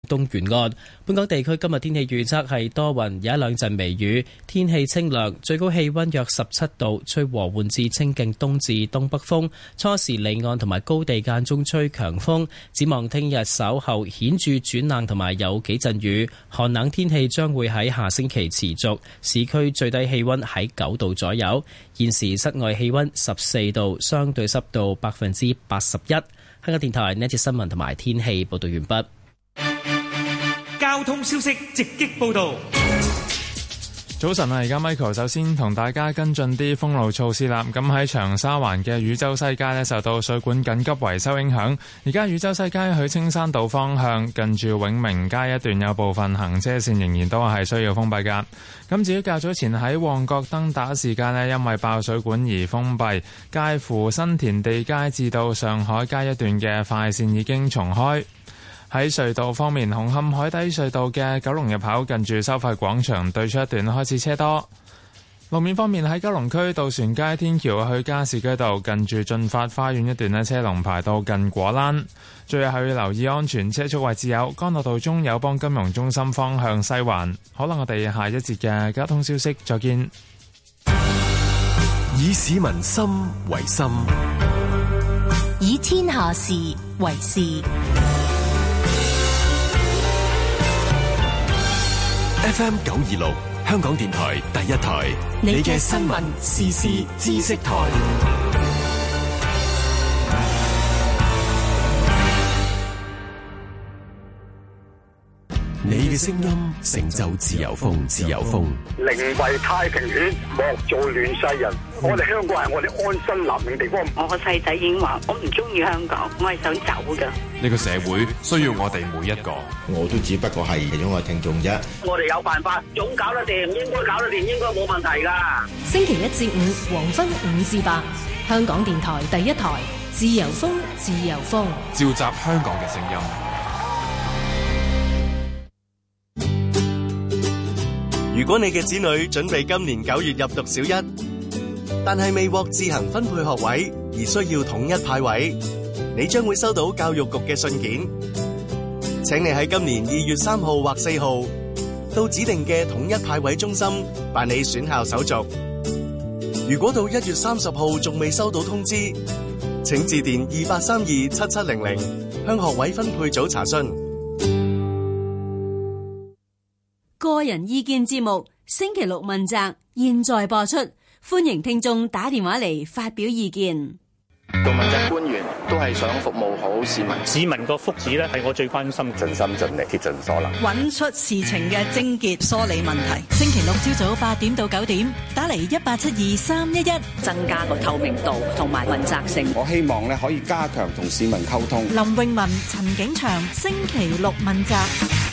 東沿岸。本港地區今日天氣預測係多雲，有一兩陣微雨，天氣清涼，最高氣溫約17度，吹和緩至清勁東至東北風，初時離岸同埋高地間中吹強風。展望聽日稍後顯著轉冷同埋有幾陣雨，寒冷天氣將會喺下星期持續。市區最低氣溫喺9度左右，現時室外氣溫14度，相對濕度81%。香港電台呢節新聞同埋天氣報道完畢。 交通消息直擊報道。 早晨啊，而家 Michael 首先同大家跟進啲封路措施啦。咁喺長沙灣嘅汝州西街呢，受到水管緊急維修影響，而家汝州西街去青山道方向近住永明街一段有部分行車線仍然都係需要封閉噶。咁至於較早前喺旺角登打士街呢，因為爆水管而封閉，介乎新田地街至到上海街一段嘅快線已經重開。喺隧道方面，紅磡海底隧道嘅九龍入口近住收費廣場對出一段開始車多。路面方面，喺九龍區渡船街天橋去加士居道近住駿發花園一段呢，車龍排到近果欄。最後要留意安全車速位置有干諾道中友邦金融中心方向西環。好啦，我哋下一節嘅交通消息再見。 以市民心為心， 以天下事為事。 FM 926香港電台第一台，你嘅新聞時事知識台。你嘅聲音成就自由風，自由風。 寧為太平犬，莫做亂世人。我哋香港係我哋安身立命地方。 我個細仔已經話我唔中意香港，我係想走㗎。 呢個社會需要我哋每一個。 我都只不過係其中一個聽眾啫。 我哋有辦法，總搞得掂，應該搞得掂，應該冇問題㗎。 星期1至5黃昏5至8，香港電台第一台，自由風，自由風， 召集香港嘅聲音。 如果你嘅子女準備今年9月入讀小一，但係未獲自行分配學位而需要統一派位，你將會收到教育局嘅信件，請你喺今年2月3號或4號到指定嘅統一派位中心辦理選校手續。如果到1月30號仲未收到通知，請致電28327700向學位分配組查詢。 個人意見節目星期六問責，現在播出，歡迎聽眾打電話嚟發表意見。 做問責官員都係想服務好市民， 市民個福祉咧係我最關心， 盡心盡力竭盡所能， 揾出事情嘅症結，梳理問題。星期六朝早8點到9點，打嚟1872-311， 增加個透明度同埋問責性。 我希望咧可以加強同市民溝通。 林詠雯、陳景祥，星期六問責。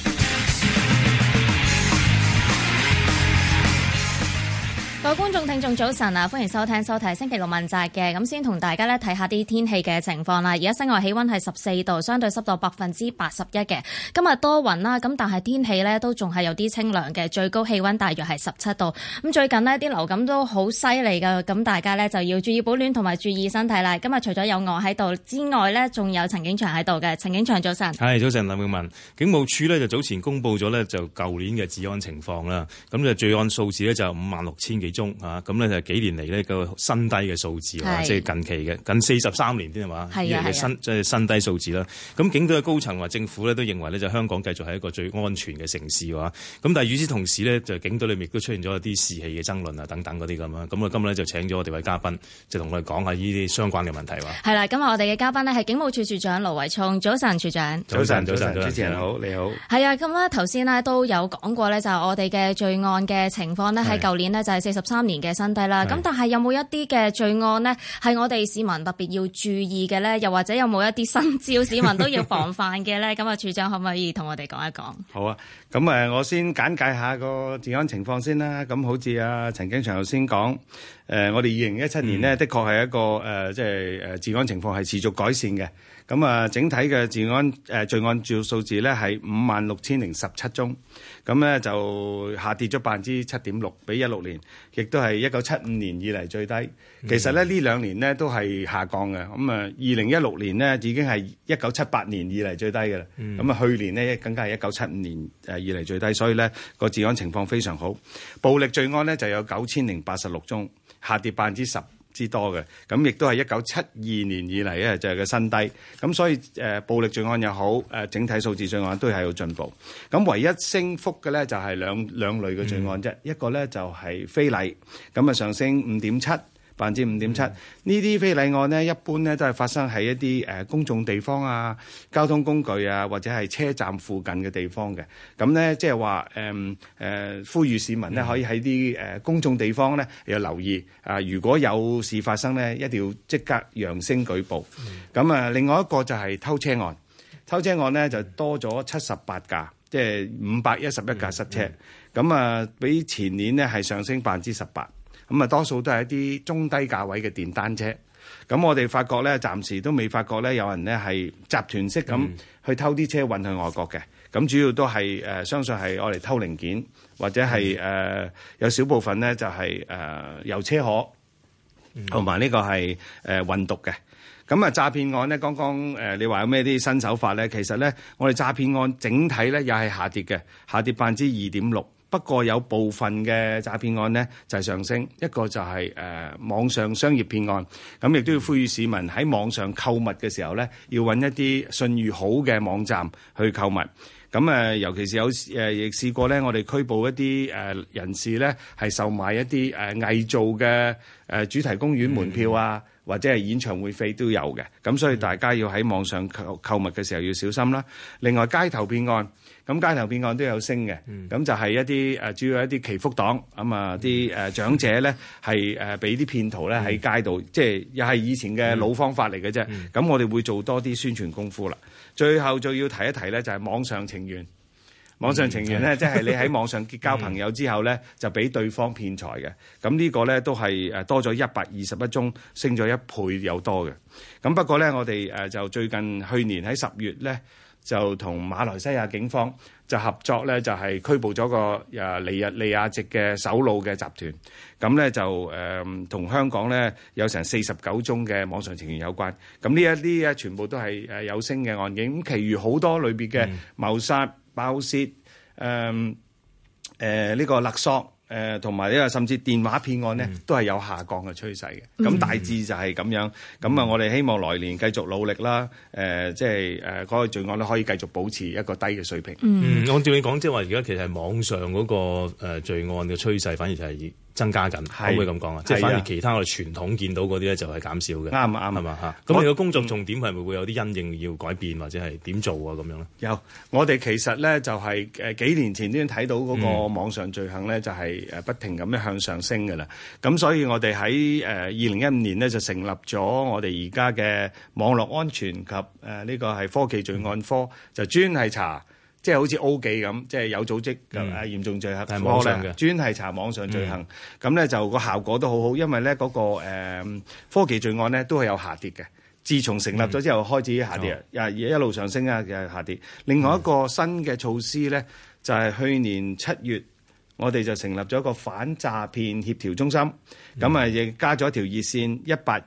各位觀眾聽眾早晨啊，歡迎收聽收睇星期六問責嘅。咁先同大家咧睇下啲天氣嘅情況啦。而家室外氣溫係14度，相對濕度81%嘅。今日多雲啦，咁但係天氣咧都仲係有啲清涼嘅，最高氣溫大約係17度。咁最近呢啲流感都好犀利噶，咁大家咧就要注意保暖同埋注意身體啦。今日除咗有我喺度之外咧，仲有陳景祥喺度嘅。陳景祥早晨。 係早晨，林詠雯。警務處咧就早前公布咗咧就舊年嘅治安情況啦。咁就罪案數字咧就56000幾宗啊，咁咧就幾年嚟呢個新低嘅數字啊，即係近期嘅近43年添係嘛，呢個新低數字啦。咁警隊嘅高層或政府咧都認為咧就香港繼續係一個最安全嘅城市嘅話，咁但係與此同時咧就警隊裏面亦都出現咗一啲士氣嘅爭論啊等等嗰啲咁啊。咁啊今日咧就請咗我哋位嘉賓，就同我哋講下呢啲相關嘅問題話。係啦， 今日我哋嘅嘉賓呢係警務處處長盧偉聰，早晨，處長。 早晨， 主持人好，你好。 係啊，咁咧頭先呢都有講過咧，就係我哋嘅罪案嘅情況呢，喺舊年呢就係43年嘅新低啦。咁但係有冇一啲嘅罪案呢係我哋市民特別要注意嘅呢？又或者有冇一啲新招市民都要防範嘅呢？咁啊，處長可唔可以同我哋講一講？ 好啊，咁我先簡介下個治安情況先啦。咁好似啊陳景祥頭先講，我哋2017年呢的確係一個即係治安情況係持續改善嘅。 咁啊，整體嘅罪案數字咧係56,017宗，咁咧就下跌咗7.6%，比16年，亦都係1975年以嚟最低。其實咧呢兩年咧都係下降嘅。咁啊，2016年呢已經係1978年以嚟最低嘅啦。咁啊，去年呢更加係1975年以嚟最低，所以咧個治安情況非常好。暴力罪案咧就有9,086宗，下跌10%之多嘅，咁亦都係1972年以嚟咧就係個新低，咁所以暴力罪案又好，整體數字罪案都係有進步。咁唯一升幅嘅咧就係兩類嘅罪案啫，一個咧就係非禮，咁啊上升5.7%。5.7%，呢啲非禮案呢，一般呢都係發生喺一啲公眾地方啊、交通工具啊，或者係車站附近嘅地方嘅。咁呢，即係話呼籲市民呢可以喺啲公眾地方呢要留意啊。如果有事發生呢，一定要即刻揚聲舉報。咁啊，另外一個就係偷車案，偷車案呢就多咗78架，即係511架失車。咁啊，比前年呢係上升18%。咁啊，多數都係一啲中低價位嘅電單車。咁我哋發覺咧，暫時都未發覺咧，有人咧係集團式咁去偷啲車運去外國嘅。咁主要都係相信係我哋偷零件，或者係有少部分咧就係油車河，同埋呢個係運毒嘅。咁啊，詐騙案咧，剛剛你話有咩啲新手法咧？其實咧，我哋詐騙案整體咧又係下跌嘅，下跌2.6%。不過有部分嘅詐騙案呢就係上升，一個就係網上商業騙案，咁亦都要呼籲市民喺網上購物嘅時候呢，要揾一啲信譽好嘅網站去購物。咁尤其是亦試過呢，我哋拘捕一啲人士呢，係售賣一啲偽造嘅主題公園門票啊，或者係演唱會飛都有嘅。咁所以大家要喺網上購物嘅時候要小心啦。另外街頭騙案。咁街頭騙案都有升嘅，咁就係一啲主要一啲祈福黨，咁啊啲長者咧係俾啲騙徒咧喺街度，即係又係以前嘅老方法嚟嘅啫。咁我哋會做多啲宣傳功夫啦。最後就要提一提咧，就係網上情緣。網上情緣咧，即係你喺網上結交朋友之後咧，就俾對方騙財嘅。咁呢個咧都係多咗121宗，升咗1倍有多嘅。咁不過咧，我哋就最近去年喺10月咧，就同馬來西亞警方就合作咧，就係拘捕咗個尼日利亞籍嘅首腦嘅集團。咁咧就同香港咧有成49宗嘅網上情緣有關。咁呢一啲全部都係有升嘅案件。咁其餘好多裏邊嘅謀殺、爆竊、呢個勒索。同埋呢個甚至電話騙案呢，都係有下降嘅趨勢嘅。咁大致就係咁樣。咁啊，我哋希望來年繼續努力啦。即係嗰個罪案咧可以繼續保持一個低嘅水平。 按照你講，即係話而家其實係網上嗰個罪案嘅趨勢，反而就係增加緊，可唔可以咁講啊？即係反而其他我哋傳統見到嗰啲咧就係減少嘅。啱係嘛嚇？咁你個工作重點係咪會有啲因應要改變，或者係點做啊？咁樣咧？有，我哋其實咧就係幾年前都已經睇到嗰個網上罪行咧就係不停咁樣向上升㗎啦。咁所以我哋喺2015年咧就成立咗我哋而家嘅網絡安全及呢個係科技罪案科，就專係查。即係好似 O 記咁，即係有組織嘅嚴重罪行科咧，專係查網上罪行。咁咧就個效果都好好，因為咧嗰個科技罪案咧都係有下跌嘅。自從成立咗之後開始下跌，一路上升啊，又下跌。另外一個新嘅措施咧，就係去年7月，我哋就成立咗一個反詐騙協調中心。咁啊，亦加咗一條熱線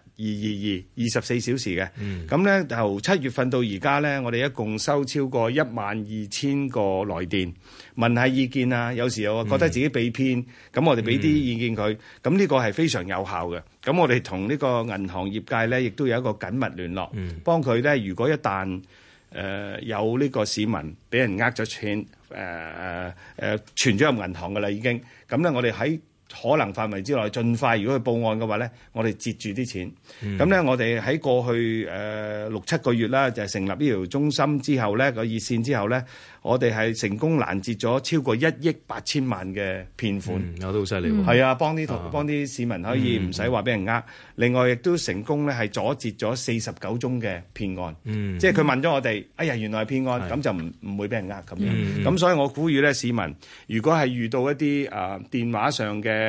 18222，24小時嘅。咁咧由7月份到而家咧，我哋一共收超過12000個來電，問下意見啊。有時又覺得自己被騙，咁我哋俾啲意見佢。咁呢個係非常有效嘅。咁我哋同呢個銀行業界咧，亦都有一個緊密聯絡，幫佢咧。如果一旦有呢個市民俾人呃咗錢，存咗入銀行㗎啦已經。咁咧我哋喺可能範圍之內，盡快如果佢報案嘅話咧，我哋截住啲錢。咁咧，我哋喺過去6-7個月啦，就係成立呢條中心之後咧，個熱線之後咧，我哋係成功攔截咗超過1億8千萬嘅騙款。有都好犀利喎。 係啊，幫啲市民可以唔使話俾人呃。另外亦都成功咧係阻截咗49宗嘅騙案。即係佢問咗我哋，哎呀原來係騙案，咁就唔會俾人呃咁樣。咁所以我呼籲咧市民，如果係遇到一啲電話上嘅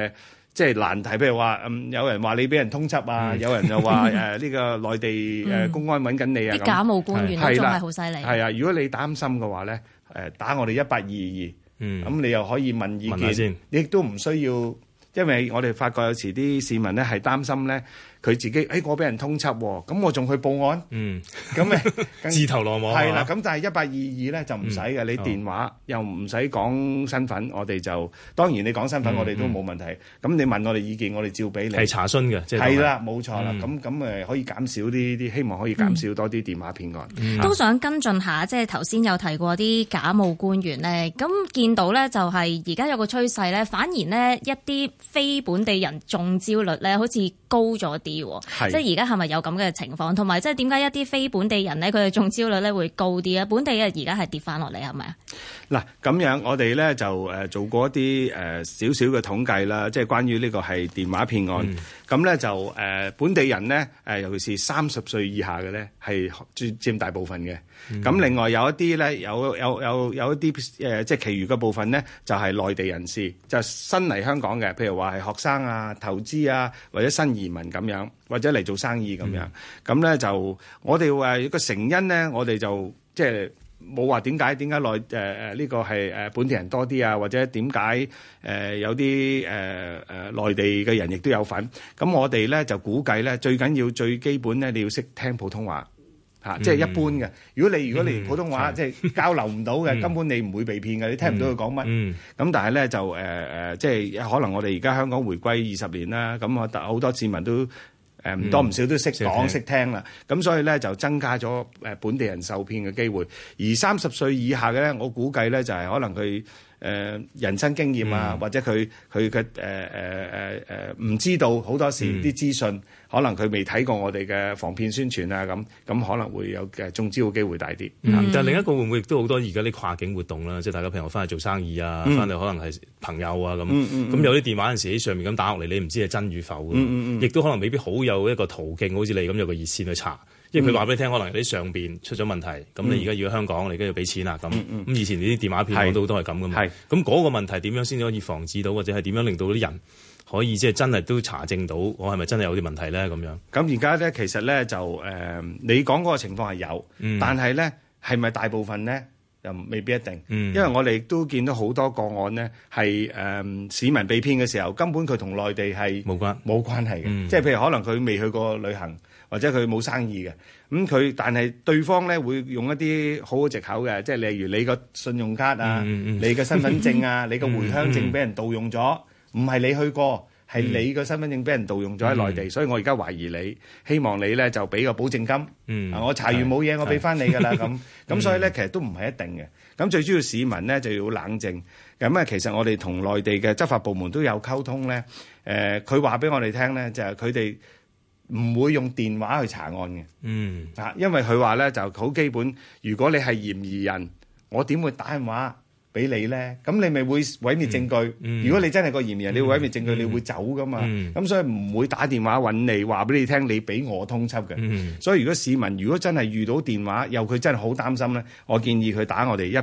即係難題，譬如話有人話你俾人通緝啊，有人又話呢個內地公安揾緊你啊， 啲假冒官員都仲係好犀利。 係啊，如果你擔心嘅話咧，打我哋1822，咁你又可以問意見，你亦都唔需要，因為我哋發覺有時啲市民咧係擔心咧。佢自己，我俾人通緝喎，咁我仲去報案，咁咪自投羅網。 係啦，咁但係1822咧就唔使嘅，你電話又唔使講身份，我哋就當然你講身份，我哋都冇問題。咁你問我哋意見，我哋照俾你。 係查詢嘅，即係係啦，冇錯啦。咁可以減少啲，希望可以減少多啲電話騙案。 都想跟進下，即係頭先有提過啲假冒官員咧，咁見到咧就係而家有個趨勢咧，反而咧一啲非本地人中招率咧好似高咗啲。即係而家係咪有咁嘅情況？同埋即係點解一啲非本地人咧，佢哋中招率咧會高啲啊？本地嘅而家係跌翻落嚟係咪啊？ 嗱，咁樣我哋咧就做過一啲少少嘅統計啦，即係關於呢個係電話騙案。咁咧就本地人咧尤其是30歲以下嘅咧係佔大部分嘅。咁另外有一啲咧有一啲即係其餘嘅部分咧就係內地人士，就新嚟香港嘅，譬如話係學生啊、投資啊或者新移民咁樣，或者嚟做生意咁樣。咁咧就我哋話個成因咧，我哋就即係冇話點解呢個係本地人多啲啊，或者點解有啲內地嘅人亦都有份。咁我哋咧就估計咧最緊要最基本咧你要識聽普通話。即係一般嘅。如果你連普通話即係交流唔到嘅，根本你唔會被騙嘅，你聽唔到佢講乜。咁但係咧就即係可能我哋而家香港回歸20年啦，咁好多市民都唔多唔少都識講識聽啦。咁所以咧就增加咗本地人受騙嘅機會。而30歲以下嘅咧，我估計咧就係可能佢人生經驗啊，或者佢嘅唔知道好多時啲資訊。可能佢未睇過我哋嘅防騙宣傳啊，咁可能會有中招嘅機會大啲。 但係另一個會唔會亦都好多而家啲跨境活動啦，即係大家譬如翻去做生意啊，翻嚟可能係朋友啊咁。咁有啲電話有陣時喺上面咁打落嚟，你唔知係真與否嘅。亦都可能未必好有一個途徑，好似你咁有個熱線去查。因為佢話俾你聽，可能喺上邊出咗問題，咁你而家要去香港，你而家要俾錢啦咁。咁以前呢啲電話騙案都係咁噶嘛。咁嗰個問題點樣先至可以防止到，或者係點樣令到啲人可以即係真係都查證到我係咪真係有啲問題咧咁樣？ 咁而家咧其實咧就你講嗰個情況係有，但係咧係咪大部分咧又未必一定。因為我哋都見到好多個案咧係市民被騙嘅時候，根本佢同內地係冇關係嘅。即係譬如可能佢未去過旅行，或者佢冇生意嘅。但係對方咧會用一啲好藉口嘅，即係例如你個信用卡啊、你嘅身份證啊、你個回鄉證俾人盜用咗。唔係你去過，係你個身份證俾人盜用咗喺內地，所以我而家懷疑你，希望你咧就俾個保證金。我查完冇嘢，我俾翻你㗎啦咁。所以咧其實都唔係一定嘅。咁最主要市民咧就要冷靜。咁其實我哋同內地嘅執法部門都有溝通咧。佢話俾我哋聽咧，就係佢哋唔會用電話去查案嘅。因為佢話咧就好基本，如果你係嫌疑人，我點會打電話俾你咧？咁你咪會毀滅證據。如果你真係個嫌疑人，你會毀滅證據，你會走噶嘛。咁所以唔會打電話揾你，話俾你聽，你俾我通緝嘅。所以如果市民如果真係遇到電話，又佢真係好擔心咧，我建議佢打我哋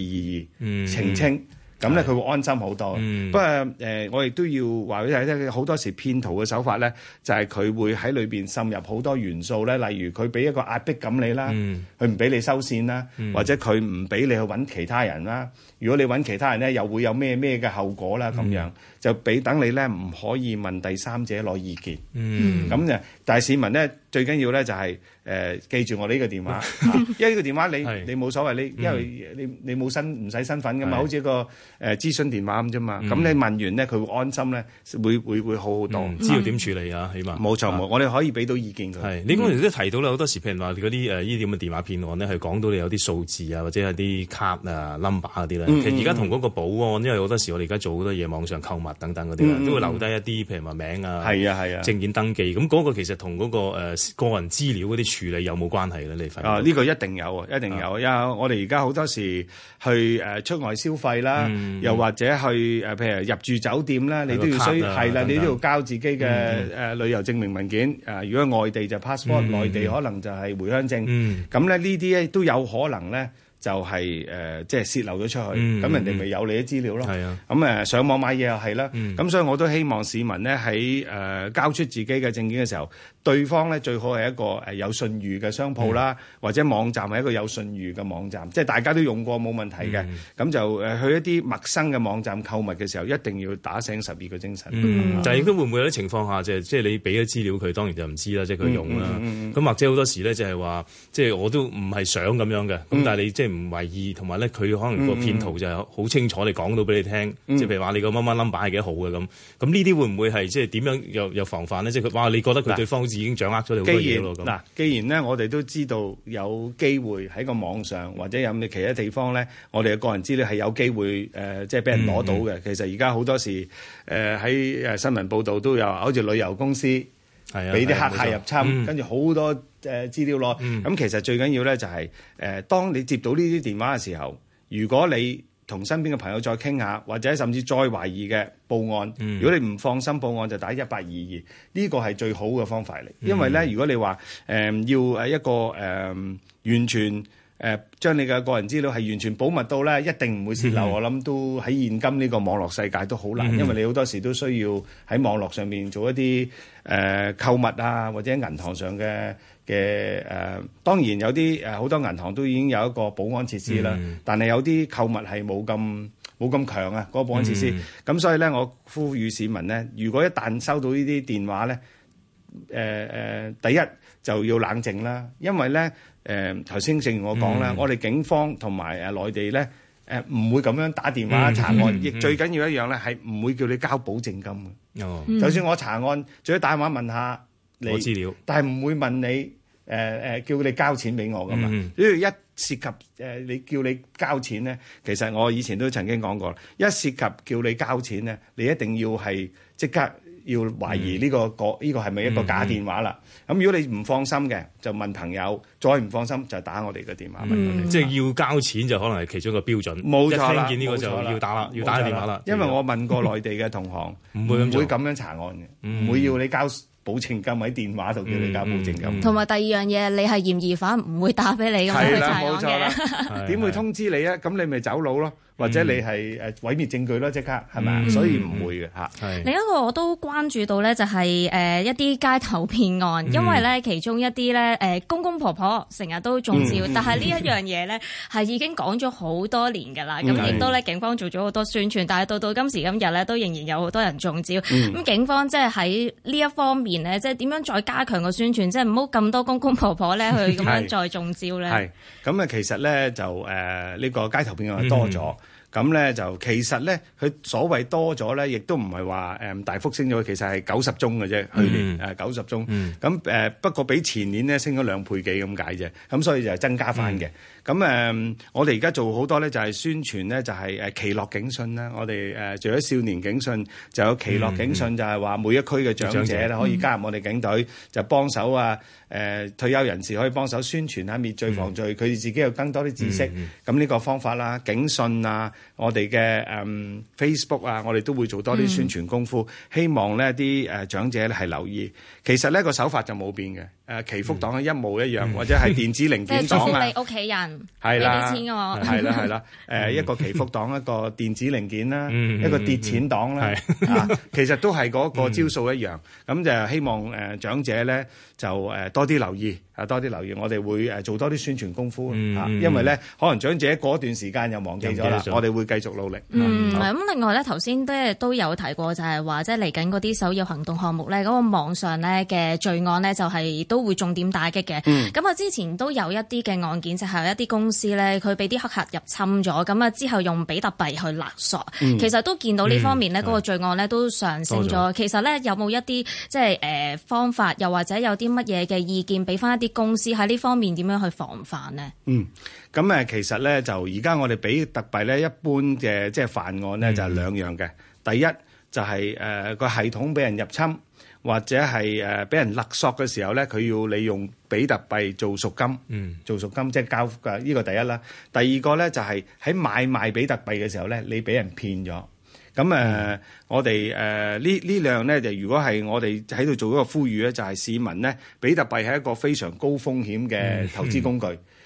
1822澄清。咁咧佢會安心好多。不過我亦都要話俾大家聽，好多時騙徒嘅手法咧，就係佢會喺裏邊滲入好多元素咧，例如佢俾一個壓迫感你啦，佢唔俾你收線啦，或者佢唔俾你去揾其他人啦。如果你揾其他人咧，又會有咩嘅後果啦咁樣，就俾等你咧唔可以問第三者攞意見。咁就但係市民咧最緊要咧就係記住我呢個電話，因為呢個電話你冇所謂，因為你冇唔使身份噶嘛，好似一個諮詢電話咁啫嘛。咁你問完咧，佢會安心咧，會好好多， 知道點處理啊，起碼冇錯冇，我哋可以俾到意見佢。 係你嗰陣時都提到啦，好多時譬如話嗰啲呢啲咁嘅電話騙案咧，係講到你有啲數字啊，或者係啲卡啊 number 嗰啲咧。其實而家同嗰個保安，因為好多時我哋而家做好多嘢，網上購物等等嗰啲都會留低一啲譬如話名啊、證件登記。咁嗰個其實同嗰個個人資料嗰啲處理有冇關係咧？你發現？ 呢個一定有，一定有。因為我哋而家好多時去出外消費啦，又或者去譬如入住酒店啦，你都要係啦，你都要交自己嘅旅遊證明文件。如果外地就 passport，內地可能就係回鄉證。咁咧呢啲咧都有可能咧。 就係即係泄漏咗出去，咁人哋咪有你啲資料咯。咁上網買嘢又係啦。咁所以我都希望市民咧喺交出自己嘅證件嘅時候，對方咧最好係一個有信譽嘅商鋪啦，或者網站係一個有信譽嘅網站，即係大家都用過冇問題嘅。咁就去一啲陌生嘅網站購物嘅時候，一定要打醒12個精神。 但係亦都會唔會有啲情況下，即係你俾咗資料佢，當然就唔知啦，即係佢用啦。咁或者好多時咧就係話，即係我都唔係想咁樣嘅。咁但係你即係唔為意，同埋咧佢可能個騙徒就係好清楚你講到俾你聽，即係譬如話你個乜乜 number 係幾號嘅咁。咁呢啲會唔會係即係點樣又防範咧？即係佢哇，你覺得佢對方好似已經掌握咗你好多嘢咯咁。 既然咧我哋都知道有機會喺個網上或者有其他地方咧，我哋嘅個人資料係有機會即係俾人攞到嘅。其實而家好多時喺新聞報導都有，好似旅遊公司俾啲黑客入侵，跟住好多資料攞。咁其實最緊要咧就係當你接到呢啲電話嘅時候，如果你同身邊嘅朋友再傾下，或者甚至再懷疑嘅報案。如果你唔放心報案，就打1822，呢個係最好嘅方法嚟。因為咧，如果你話要一個完全將你嘅個人資料係完全保密到咧，一定唔會泄漏。我諗都喺現今呢個網絡世界都好難，因為你好多時都需要喺網絡上面做一啲購物啊，或者銀行上嘅當然有啲好多銀行都已經有一個保安設施啦，但係有啲購物係冇咁強啊，嗰個保安設施。咁所以咧，我呼籲市民咧，如果一旦收到呢啲電話咧，第一就要冷靜啦，因為咧頭先正如我講啦，我哋警方同埋內地咧唔會咁樣打電話查案，亦最緊要一樣咧係唔會叫你交保證金嘅。就算我查案，最多打電話問下你資料，但係唔會問你叫你交錢俾我噶嘛。因為一涉及你叫你交錢咧，其實我以前都曾經講過，一涉及叫你交錢咧，你一定要係即刻要懷疑呢個係咪一個假電話啦。咁如果你唔放心嘅，就問朋友；再唔放心就打我哋嘅電話問我哋。 即係要交錢就可能係其中一個標準。 冇錯啦， 一聽見呢個就要打啦，要打電話啦。 因為我問過內地嘅同行，唔會咁樣查案嘅，唔會要你交保證金喺電話度叫你交保證金。 同埋第二樣嘢，你係嫌疑犯，唔會打俾你咁樣去查案嘅。冇錯啦， 點會通知你啊？咁你咪走佬咯。或者你係毀滅證據咯，即刻係咪？所以唔會嘅嚇。 另一個我都關注到咧，就係一啲街頭騙案，因為咧其中一啲咧公公婆婆成日都中招，但係呢一樣嘢咧係已經講咗好多年㗎啦。咁亦都咧警方做咗好多宣傳，但係到今時今日咧都仍然有好多人中招。咁警方即係喺呢一方面咧，即係點樣再加強個宣傳，即係唔好咁多公公婆婆咧去咁樣再中招咧。係咁啊，其實咧就呢個街頭騙案多咗。咁咧就其實咧，佢所謂多咗咧，亦都唔係話大幅升咗，其實係90宗嘅啫。去年90宗，咁不過比前年咧升咗2倍幾咁解啫。咁所以就係增加翻嘅。咁我哋而家做好多咧，就係宣傳咧，就係奇樂警訊啦。我哋除咗少年警訊，就有奇樂警訊，就係話每一區嘅長者咧可以加入我哋警隊，就幫手啊。退休人士可以幫手宣傳下滅罪防罪，佢哋自己有更多啲知識。咁呢個方法啦，警訊啊，我哋嘅Facebook 啊，我哋都會做多啲宣傳功夫，希望呢啲長者咧係留意。其實呢個手法就冇變嘅，祈福黨係一模一樣，或者係電子零件黨啊， 你屋企人係啦， 俾啲錢我， 係啦，一個祈福黨，一個電子零件啦，一個跌錢黨啦，其實都係嗰個招數一樣。咁就希望長者咧就多啲留意，多啲留意，我哋會做多啲宣傳功夫，因為咧可能長者過一段時間又忘記咗啦，我哋會繼續努力。 咁另外咧，頭先都有提過，就係話即係嚟緊嗰啲首要行動項目咧，嗰個網上咧嘅罪案咧，就係都會重點打擊嘅。咁啊，之前都有一啲嘅案件，就係一啲公司咧，佢俾啲黑客入侵咗，咁啊之後用比特幣去勒索，其實都見到呢方面咧，嗰個罪案咧都上升咗。其實咧有冇一啲即係方法，又或者有啲乜嘢嘅意見俾翻一啲公司喺呢方面點樣去防範呢？ 咁其實咧就而家我哋比特幣咧一般嘅即係犯案咧就係兩樣嘅。第一就係個系統俾人入侵，或者係俾人勒索嘅時候咧，佢要你用比特幣做贖金，做贖金即係交嘅，呢個第一啦。第二個咧就係喺買賣比特幣嘅時候咧，你俾人騙咗。咁我哋呢樣咧就如果係我哋喺度做一個呼籲咧，就係市民咧，比特幣係一個非常高風險嘅投資工具。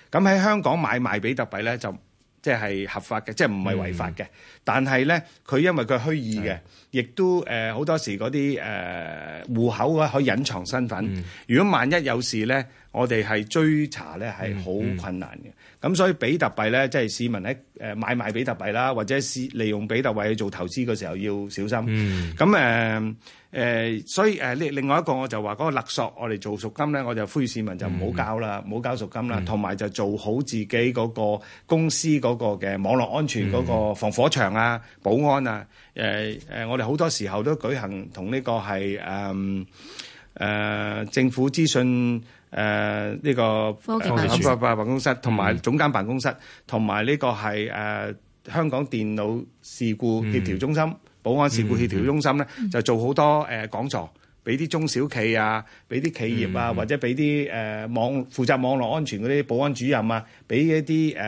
咁喺香港買賣比特幣咧就即係合法嘅，即係唔係違法嘅。但係咧，佢因為佢虛擬嘅，亦都好多時嗰啲戶口啊可以隱藏身份。如果萬一有事咧，我哋係追查咧係好困難嘅。咁所以比特幣咧，即係市民喺買賣比特幣啦，或者利用比特幣去做投資嘅時候要小心。咁所以另外一個我就話嗰個勒索，我哋做贖金咧，我就呼籲市民就唔好交啦，唔好交贖金啦，同埋就做好自己嗰個公司嗰個嘅網絡安全嗰個防火牆啊、保安啊。我哋好多時候都舉行同呢個係政府資訊呢個科技辦公室同埋總監辦公室，同埋呢個係香港電腦事故協調中心、保安事故協調中心咧，就做好多講座，俾啲中小企啊，俾啲企業啊，或者俾啲負責網絡安全嗰啲保安主任啊，俾一啲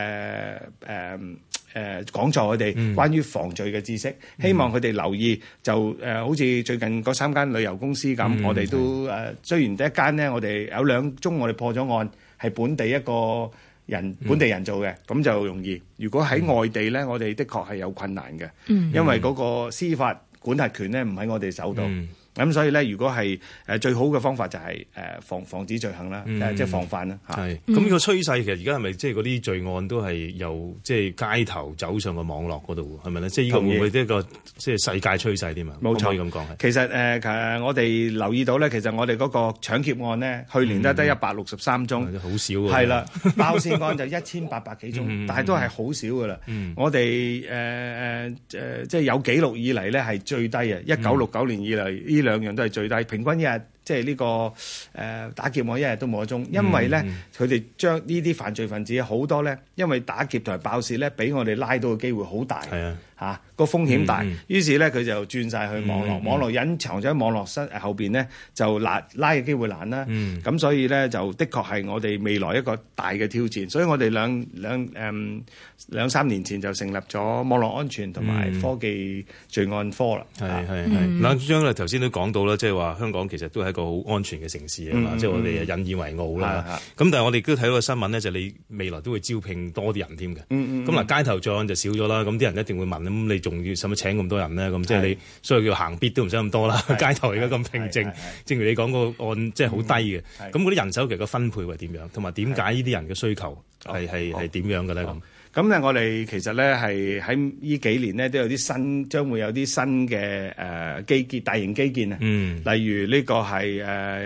講座佢哋關於防罪嘅知識，希望佢哋留意就好似最近嗰3間旅遊公司咁，我哋都雖然第一間呢，我哋有2宗我哋破咗案，係本地人做嘅，咁就容易。如果喺外地咧，我哋的確係有困難嘅，因為嗰個司法管轄權咧唔喺我哋手度。咁所以咧，如果係最好嘅方法就係防止罪行啦，即係防範啦嚇。 係咁個趨勢其實而家係咪即係嗰啲罪案都係由即係街頭走上個網絡嗰度係咪咧？即係呢個會唔會一個即係世界趨勢添啊？ 冇錯， 可以咁講係。 其實我哋留意到咧，其實我哋嗰個搶劫案咧，去年得163宗， 好少喎。 係啦，爆竊案就1800幾宗，但係都係好少噶啦。我哋即係有記錄以嚟咧係最低啊！1969年以嚟呢2樣都係最低，平均一日即係呢個打劫案一日都冇1宗，因為咧佢哋將呢啲犯罪分子好多咧，因為打劫同埋爆竊咧，俾我哋拉到嘅機會好大，嚇個風險大，於是咧佢就轉晒去網絡，網絡隱藏咗喺網絡後邊咧就拉嘅機會難啦。咁所以咧就的確係我哋未來一個大嘅挑戰，所以我哋兩三年前就成立咗網絡安全同埋科技罪案科啦。 嗱，張咧頭先都講到啦，即係話香港其實都係一個好安全嘅城市啊嘛，即係我哋引以為傲啦。咁但係我哋都睇到個新聞咧，就你未來都會招聘多啲人添嘅。咁嗱，街頭罪案就少咗啦，咁啲人一定會問，咁你仲要使乜請咁多人咧？咁即係你所以叫行必都唔使咁多啦。街頭而家咁平靜，正如你講個案即係好低嘅。咁嗰啲人手其實個分配係點樣？同埋點解呢啲人嘅需求係點樣嘅咧？ 咁咧，我哋其實咧係喺呢幾年咧都有啲將會有啲新嘅基建、大型基建啊。例如呢個係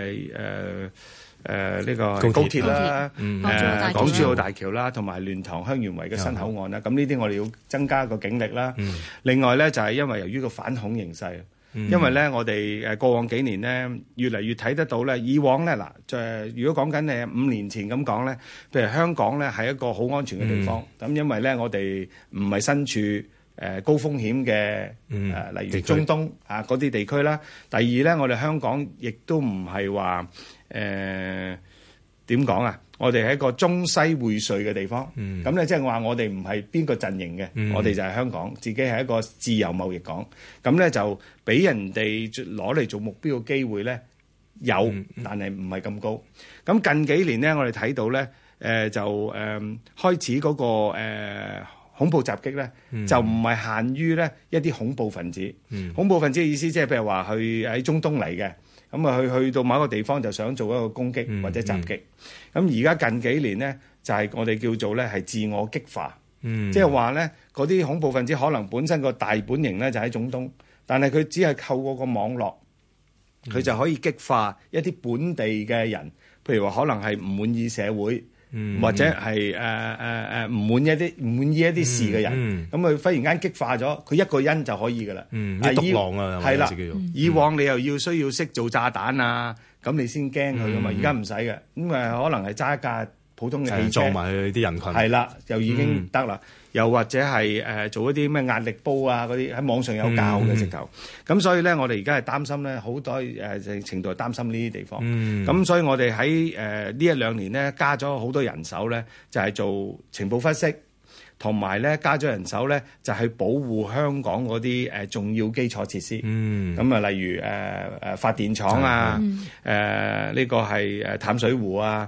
呢個高鐵啦，港珠澳大橋啦，同埋蓮塘香園圍嘅新口岸啦。咁呢啲我哋要增加個警力啦。另外咧就係因為由於個反恐形勢。因為咧，我哋過往幾年咧，越嚟越睇得到咧。以往咧如果講緊5年前咁講咧，譬如香港咧係一個好安全嘅地方。咁因為咧，我哋唔係身處高風險嘅例如中東嗰啲地區啦。第二咧，我哋香港亦都唔係話點講啊？我哋係一個中西匯萃嘅地方，咁咧即係話我哋唔係邊個陣營嘅，我哋就係香港，自己係一個自由貿易港，咁咧就俾人哋攞嚟做目標嘅機會咧有，但係唔係咁高。咁近幾年咧，我哋睇到咧，就開始嗰個恐怖襲擊咧，就唔係限於咧一啲恐怖分子。恐怖分子嘅意思即係譬如話去喺中東嚟嘅。咁啊，去到某一個地方就想做一個攻擊或者襲擊。咁而家近幾年咧，就係我哋叫做咧係自我激化，即係話咧嗰啲恐怖分子可能本身個大本營咧就喺中東，但係佢只係透過個網絡，佢就可以激化一啲本地嘅人，譬如話可能係唔滿意社會。或者係唔滿意一啲事嘅人，咁佢忽然間激化咗，佢一個人就可以噶啦。 獨狼啊， 係啦。以往你又需要識做炸彈啊，咁你先驚佢噶嘛。而家唔使嘅，咁可能係揸一架普通嘅汽車撞埋去啲人群。 係啦，就已經得啦。又或者係做一啲咩壓力煲啊嗰啲喺網上有教嘅直頭。咁所以咧，我哋而家係擔心咧，好多程度係擔心呢啲地方。咁所以我哋喺呢1-2年咧加咗好多人手咧，就係做情報分析，同埋咧加咗人手咧就係保護香港嗰啲重要基礎設施。咁啊，例如發電廠啊，呢個係淡水湖啊。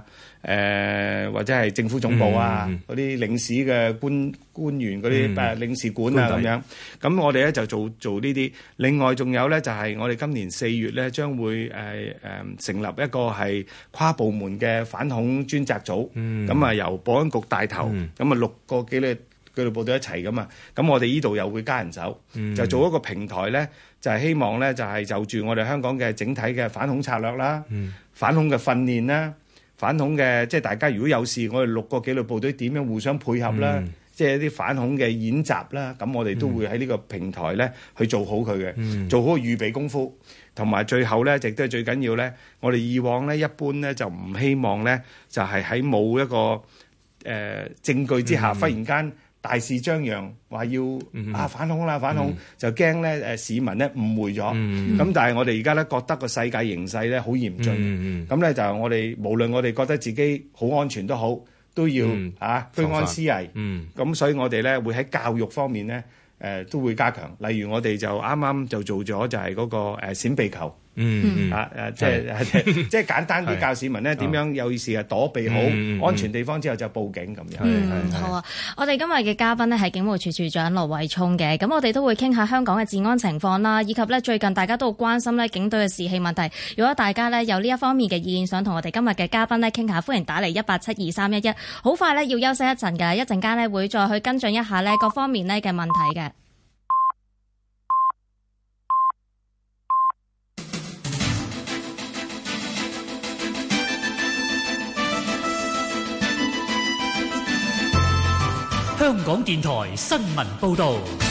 或者係政府總部啊，嗰啲領事嘅官員嗰啲領事館啊咁樣。咁我哋咧就做呢啲。另外仲有咧就係我哋今年4月咧將會成立一個係跨部門嘅反恐專責組。咁啊由保安局帶頭，咁啊6個紀律部隊一齊咁啊。咁我哋呢度又會加人手，就做一個平台咧，就係希望咧就係就住我哋香港嘅整體嘅反恐策略啦，反恐嘅訓練啦。反恐嘅，即係大家如果有事，我哋6個紀律部隊點樣互相配合啦，即係一啲反恐嘅演習啦，咁我哋都會喺呢個平台咧去做好佢嘅，做好個預備功夫，同埋最後咧，亦都係最緊要咧，我哋以往咧一般咧就唔希望咧就係喺冇一個證據之下，忽然間大肆張揚話要反恐啦，反恐就驚咧市民咧誤會咗。咁但係我哋而家咧覺得個世界形勢咧好嚴峻，咁咧就我哋無論我哋覺得自己好安全都好，都要居安思危。咁所以我哋咧會喺教育方面咧都會加強。例如我哋就啱啱就做咗就係嗰個閃避球。即係簡單啲教市民咧點樣有意思躲避好安全地方之後就報警咁樣。 好啊！我哋今日嘅嘉賓呢係警務處處長盧偉聰嘅，咁我哋都會傾下香港嘅治安情況啦，以及呢最近大家都好關心呢警隊嘅士氣問題。如果大家呢有呢一方面嘅意見，想同我哋今日嘅嘉賓呢傾下，歡迎打嚟1872311。好快呢要休息一陣㗎，一陣間呢會再去跟進一下呢各方面呢嘅問題嘅。 香港電台新聞報導。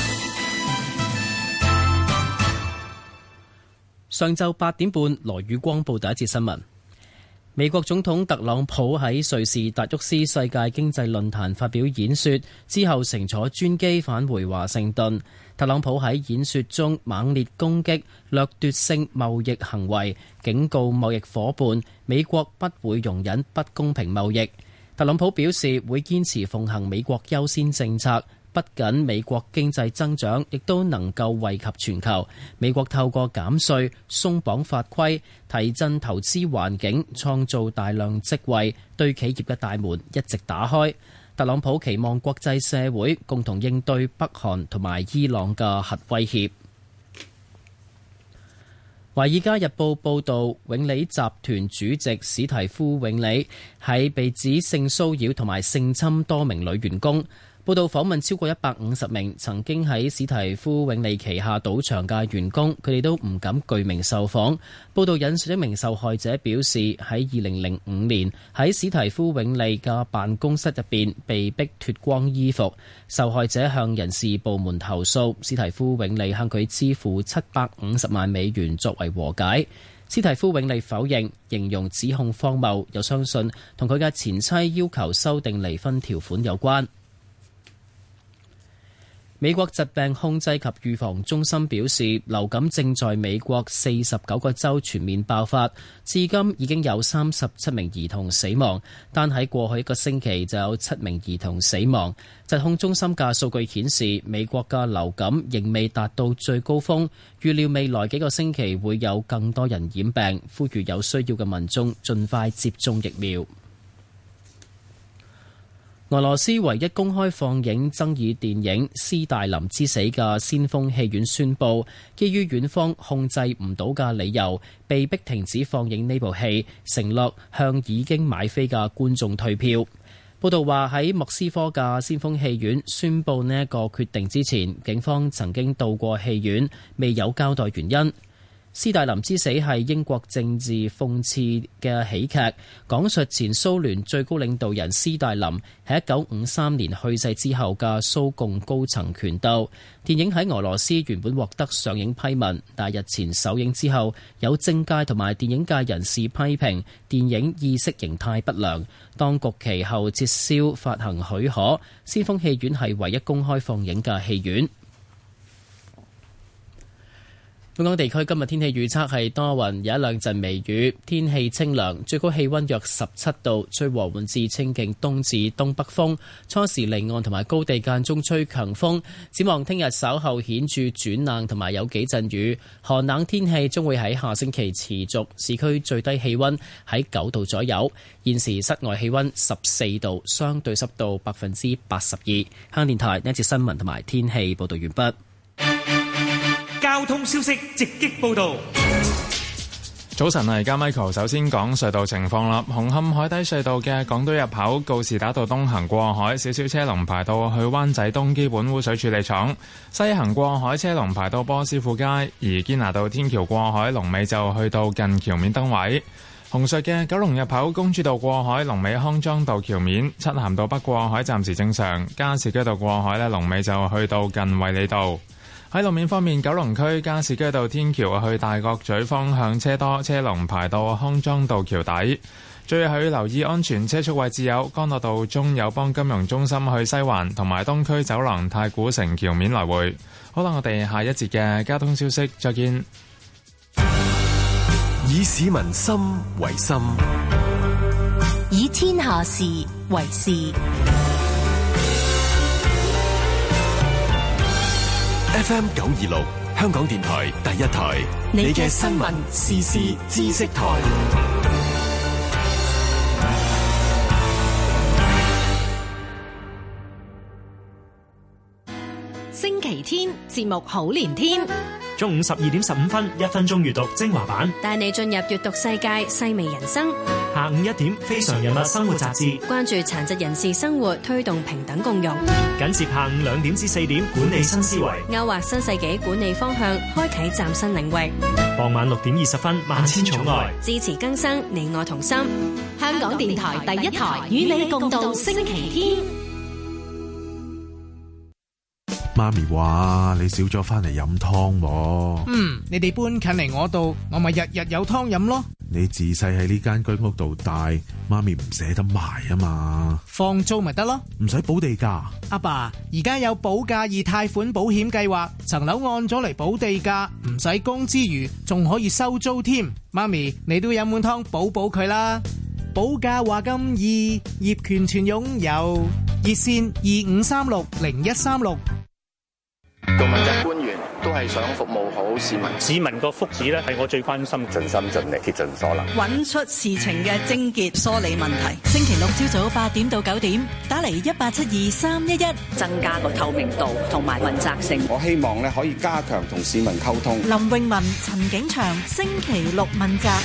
上晝8點半，羅宇光報第一節新聞。美國總統特朗普喺瑞士達沃斯世界經濟論壇發表演說之後，乘坐專機返回華盛頓。特朗普喺演說中猛烈攻擊掠奪性貿易行為，警告貿易夥伴美國不會容忍不公平貿易。特朗普表示會堅持奉行美國優先政策，不僅美國經濟增長，亦都能夠惠及全球。美國透過減稅、鬆綁法規、提振投資環境，創造大量職位，對企業嘅大門一直打開。特朗普期望國際社會共同應對北韓同埋伊朗嘅核威脅。《華爾街日報》報導，永利集團主席史提夫永利喺被指性騷擾同埋性侵多名女員工。報道訪問超過150名曾經喺史提夫永利旗下賭場嘅員工，佢哋都唔敢具名受訪。報道引述一名受害者表示，喺2005年喺史提夫永利嘅辦公室入邊被逼脫光衣服。受害者向人事部門投訴，史提夫永利向佢支付750萬美元作為和解。史提夫永利否認，形容指控荒謬，又相信同佢嘅前妻要求修訂離婚條款有關。美國疾病控制及預防中心表示，流感正在美國49個州全面爆發，至今已經有37名兒童死亡，單喺過去一個星期就有7名兒童死亡。疾控中心嘅數據顯示，美國嘅流感仍未達到最高峰，預料未來幾個星期會有更多人染病，呼籲有需要嘅民眾盡快接種疫苗。俄羅斯唯一公開放映爭議電影《斯大林之死》嘅先鋒戲院宣布，基於院方控制唔到嘅理由，被迫停止放映呢部戲，承諾向已經買飛嘅觀眾退票。報道話喺莫斯科嘅先鋒戲院宣布呢一個決定之前，警方曾經到過戲院，未有交代原因。斯大林之死係英國政治諷刺嘅喜劇，講述前蘇聯最高領導人斯大林喺1953年去世之後嘅蘇共高層權鬥。電影喺俄羅斯原本獲得上映批文，但日前首映之後，有政界同埋電影界人士批評電影意識形態不良，當局其後撤銷發行許可。先鋒戲院係唯一公開放映嘅戲院。 本港地區今日天氣預測係多雲，有一兩陣微雨，天氣清涼，最高氣溫約17度，吹和緩至清勁東至東北風，初時離岸同埋高地間中吹強風。展望聽日稍後顯著轉冷同埋有幾陣雨，寒冷天氣將會喺下星期持續。市區最低氣溫喺9度左右，現時室外氣溫14度，相對濕度82%。香港電台呢一節新聞同埋天氣報道完畢。 交通消息直擊報道。 早晨啊，而家 Michael 首先講隧道情況啦。紅磡海底隧道嘅港島入口告士打道東行過海，少少車龍排到去灣仔東基本污水處理廠；西行過海車龍排到波斯富街，而堅拿道天橋過海龍尾就去到近橋面燈位。紅隧嘅九龍入口公主道過海龍尾康莊道橋面，漆咸道北過海暫時正常，加士居道過海呢龍尾就去到近衛理道。喺路面方面，九龍區加士居道天橋去大角咀方向車多，車龍排到康莊道橋底。最後要留意安全車速位置有干諾道中友邦金融中心去西環，同埋東區走廊太古城橋面來回。好啦，我哋下一節嘅交通消息再見。 以市民心為心， 以天下事為事。 FM 926，香港電台第一台，你嘅新聞時事知識台。 星期天節目好連天， 中午12點15分，1分鐘閱讀精華版， 帶你進入閱讀世界，細微人生。 下午1點，非常人物生活雜誌， 關注殘疾人士生活，推動平等共融。 緊接下午2點至4點，管理新思維， 勾畫新世紀管理方向，開啟嶄新領域。 傍晚6點20分，萬千寵愛， 支持更生，你我同心。香港電台第一台，與你共度星期天。 媽咪話你少咗翻嚟飲湯喎。 你哋搬近嚟我度，我咪日日有湯飲咯。 你自細喺呢間居屋度大，媽咪唔捨得賣啊嘛。 放租咪得咯， 唔使補地價。 阿爸，而家有保價易貸款保險計劃，層樓按咗嚟補地價，唔使供之餘，仲可以收租添。媽咪，你都飲碗湯補佢啦。保價話咁易，業權全擁有。熱線25360136。 做問責官員都係想服務好市民， 市民個福祉咧係我最關心， 盡心盡力竭盡所能， 揾出事情嘅症結，梳理問題。星期六朝早8點到9點，打嚟1872-311， 增加個透明度同埋問責性。 我希望咧可以加強同市民溝通。 林詠雯、陳景祥，星期六問責。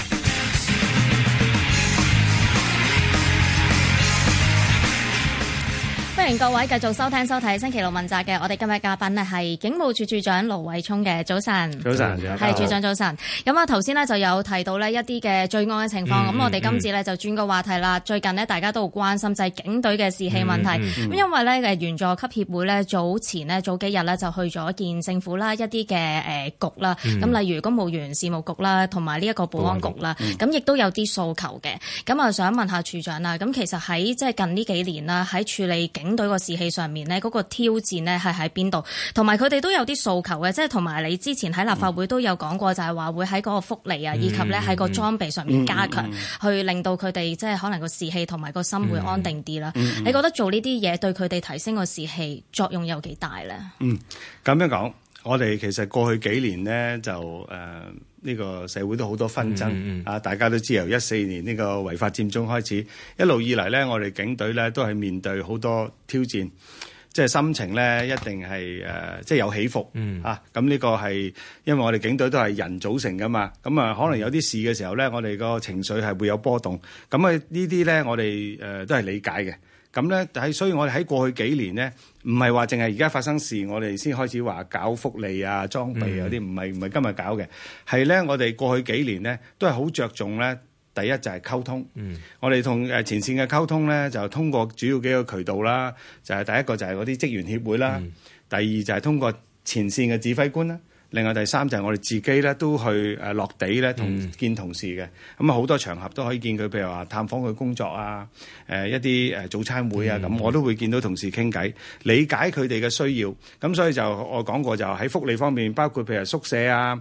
歡迎各位繼續收聽收睇星期六問責嘅，我哋今日嘉賓呢係警務處處長盧偉聰嘅。早晨。 早晨， 係處長早晨。咁啊頭先呢就有提到呢一啲嘅罪案嘅情況，咁我哋今次呢就轉個話題啦。最近呢大家都好關心就係警隊嘅士氣問題，咁因為呢員佐級協會呢早幾日呢就去咗見政府啦，一啲嘅局啦，咁例如公務員事務局啦，同埋呢一個保安局啦，咁亦都有啲訴求嘅。咁啊想問下處長啦，咁其實喺即係近呢幾年啦，喺處理警隊個士氣上面呢，嗰個挑戰呢係喺邊度？同埋佢哋都有啲訴求嘅，即係同埋你之前喺立法會都有講過，就係話會喺嗰個福利啊，以及呢喺個裝備上面加強，去令到佢哋即係可能個士氣同埋個心會安定啲啦。你覺得做呢啲嘢對佢哋提升個士氣作用有幾大呢？ 咁樣講，我哋其實過去幾年呢，就呢個社會都好多紛爭大家都知由14年呢個違法佔中開始，一路以嚟呢，我哋警隊呢都係面對好多挑戰，即係心情呢一定係即係有起伏咁呢個係因為我哋警隊都係人組成噶嘛，咁可能有啲事嘅時候呢，我哋個情緒係會有波動，咁呢啲呢，我哋都係理解嘅。咁咧，所以我哋喺過去幾年呢，唔係話淨係而家發生事，我哋先開始話搞福利啊、裝備啊啲，唔係今日搞嘅，係咧我哋過去幾年呢，都係好着重咧。第一就係溝通，我哋同前線嘅溝通咧，就通過主要幾個渠道啦，就係第一個就係嗰啲職員協會啦，第二就係通過前線嘅指揮官啦。 另外第三就係我哋自己咧都去落地咧同見同事嘅，咁啊好多場合都可以見佢，譬如話探訪佢工作啊，一啲早餐會啊，咁我都會見到同事傾偈，理解佢哋嘅需要。咁所以就我講過就喺福利方面，包括譬如宿舍啊，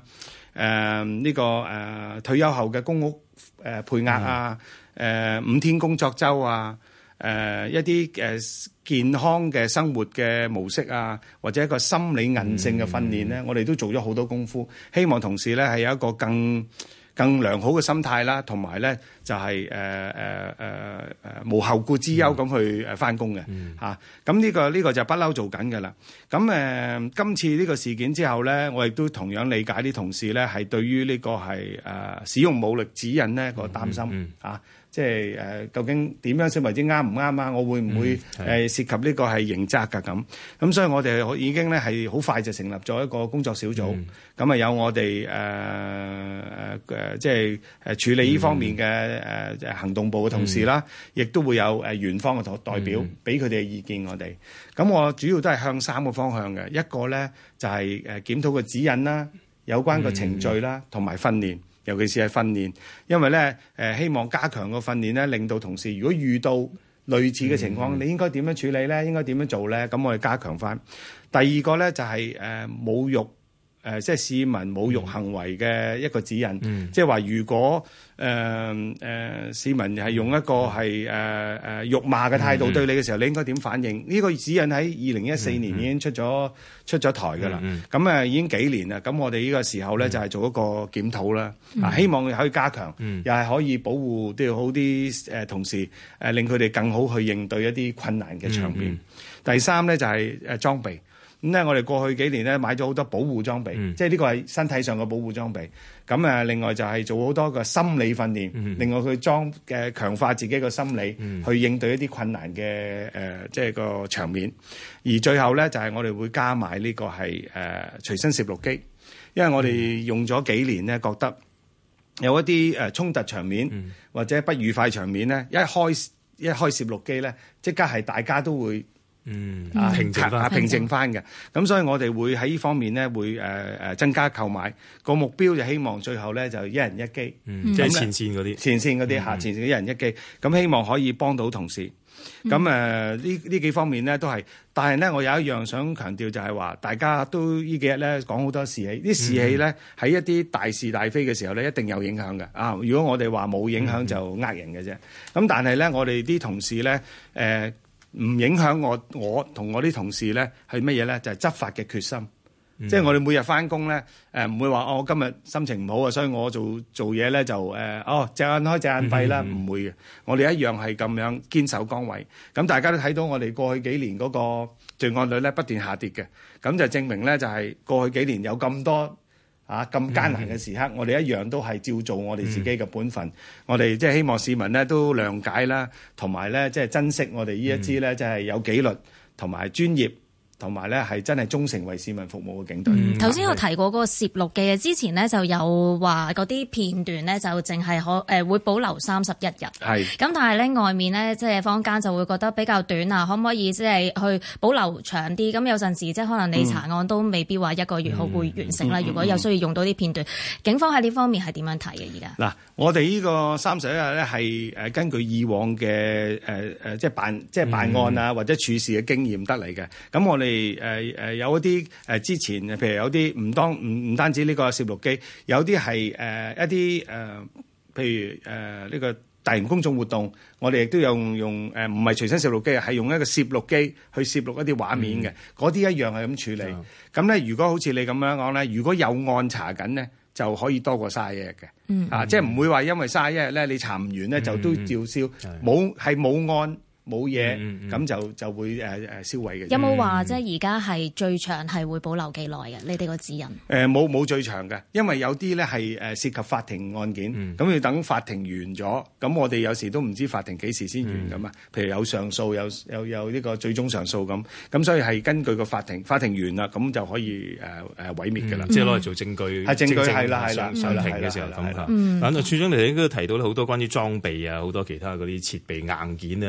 退休後嘅公屋配額啊，5天工作週啊。一啲健康嘅生活嘅模式啊，或者一個心理韌性嘅訓練咧，我哋都做咗好多功夫，希望同事咧係有一個更良好嘅心態啦，同埋咧就係無後顧之憂咁去返工嘅嚇。咁呢個就不嬲做緊㗎啦。咁今次呢個事件之後咧，我亦都同樣理解啲同事咧係對於呢個係使用武力指引呢個擔心嚇。即係究竟點樣先為之啱唔啱啊？我會唔會涉及呢個係刑責㗎咁？咁所以我哋已經咧係好快就成立咗一個工作小組，咁有我哋即係處理呢方面嘅行動部嘅同事啦，亦都會有園方嘅代表俾佢哋嘅意見我哋。咁我主要都係向3個方向嘅，一個咧就係檢討個指引啦，有關個程序啦，同埋訓練。尤其是係訓練，因為咧希望加強個訓練咧，令到同事如果遇到類似嘅情況，你應該點樣處理咧？應該點樣做咧？咁我哋加強翻。第二個咧就係侮辱即係市民侮辱行為嘅一個指引，即係話如果市民係用一個係辱罵嘅態度對你嘅時候，你應該點反應？呢個指引喺2014年已經出咗台㗎啦。咁已經幾年啦。咁我哋呢個時候咧就係做一個檢討啦。希望可以加強，又係可以保護都要好啲同事，令佢哋更好去應對一啲困難嘅場面。第三咧就係裝備。咁咧，我哋過去幾年咧買咗好多保護裝備，即係呢個係身體上嘅保護裝備。咁另外就係做好多個心理訓練，另外佢強化自己個心理，去應對一啲困難嘅即係個場面。而最後咧就係我哋會加埋呢個係隨身攝錄機，因為我哋用咗幾年咧，覺得有一啲衝突場面或者不愉快場面咧，一開攝錄機咧，即刻係大家都會。平靜翻嘅，咁所以我哋會喺呢方面咧會增加購買，個目標就希望最後咧就一人一機， 即係前線嗰啲前線一人一機，咁希望可以幫到同事。咁呢幾方面咧都係，但係咧我有一樣想強調就係話，大家都呢幾日咧講好多士氣，啲士氣咧喺一啲大是大非嘅時候咧一定有影響嘅啊！如果我哋話冇影響就呃人嘅啫。咁但係咧我哋啲同事咧唔影響我同我啲同事咧係乜嘢咧？就係執法嘅決心。即係我哋每日翻工咧，唔會話我今日心情唔好啊，所以我做嘢咧就隻眼開隻眼閉啦，唔會嘅。我哋一樣係咁樣堅守崗位。咁大家都睇到我哋過去幾年嗰個罪案率咧不斷下跌嘅，咁就證明咧就係過去幾年有咁多咁艱難嘅時刻，我哋一樣都係照做我哋自己嘅本分。我哋即係希望市民咧都諒解啦，同埋咧即係珍惜我哋呢一支咧即係有紀律同埋專業。同埋咧係真係忠誠為市民服務嘅警隊。 頭先有提過嗰個攝錄嘅，之前呢就有話嗰啲片段呢就淨係會保留31日。係。咁但係咧外面呢，即係坊間就會覺得比較短啊，可唔可以即係去保留長啲？咁有陣時即係可能你查案都未必話1個月後會完成啦。如果有需要用到啲片段，警方喺呢方面係點樣睇嘅？而家嗱，我哋呢個31日咧係根據以往嘅即係辦案啊或者處事嘅經驗得嚟嘅。咁我哋有一啲之前譬如有啲唔單止呢個攝錄機，有啲係一啲譬如呢個大型公眾活動，我哋亦都有用唔係隨身攝錄機，係用一個攝錄機去攝錄一啲畫面嘅，嗰啲一樣係咁處理。咁咧，如果好似你咁樣講咧，如果有案查緊咧，就可以多過31日嘅，即係唔會話因為31日咧你查唔完咧就都照燒，冇案。冇嘢，咁就會銷毀嘅。 有冇話即係而家係最長係會保留幾耐嘅？你哋個指引？ 冇最長嘅，因為有啲咧係涉及法庭案件，咁要等法庭完咗，咁我哋有時都唔知法庭幾時先完噶嘛。譬如有上訴，有呢個最終上訴咁所以係根據個法庭完啦，咁就可以毀滅㗎啦。 即係攞嚟做證據。係證據係啦， 上庭嘅時候咁嚇。咁處長你應該提到好多關於裝備啊，好多其他嗰啲設備硬件啊。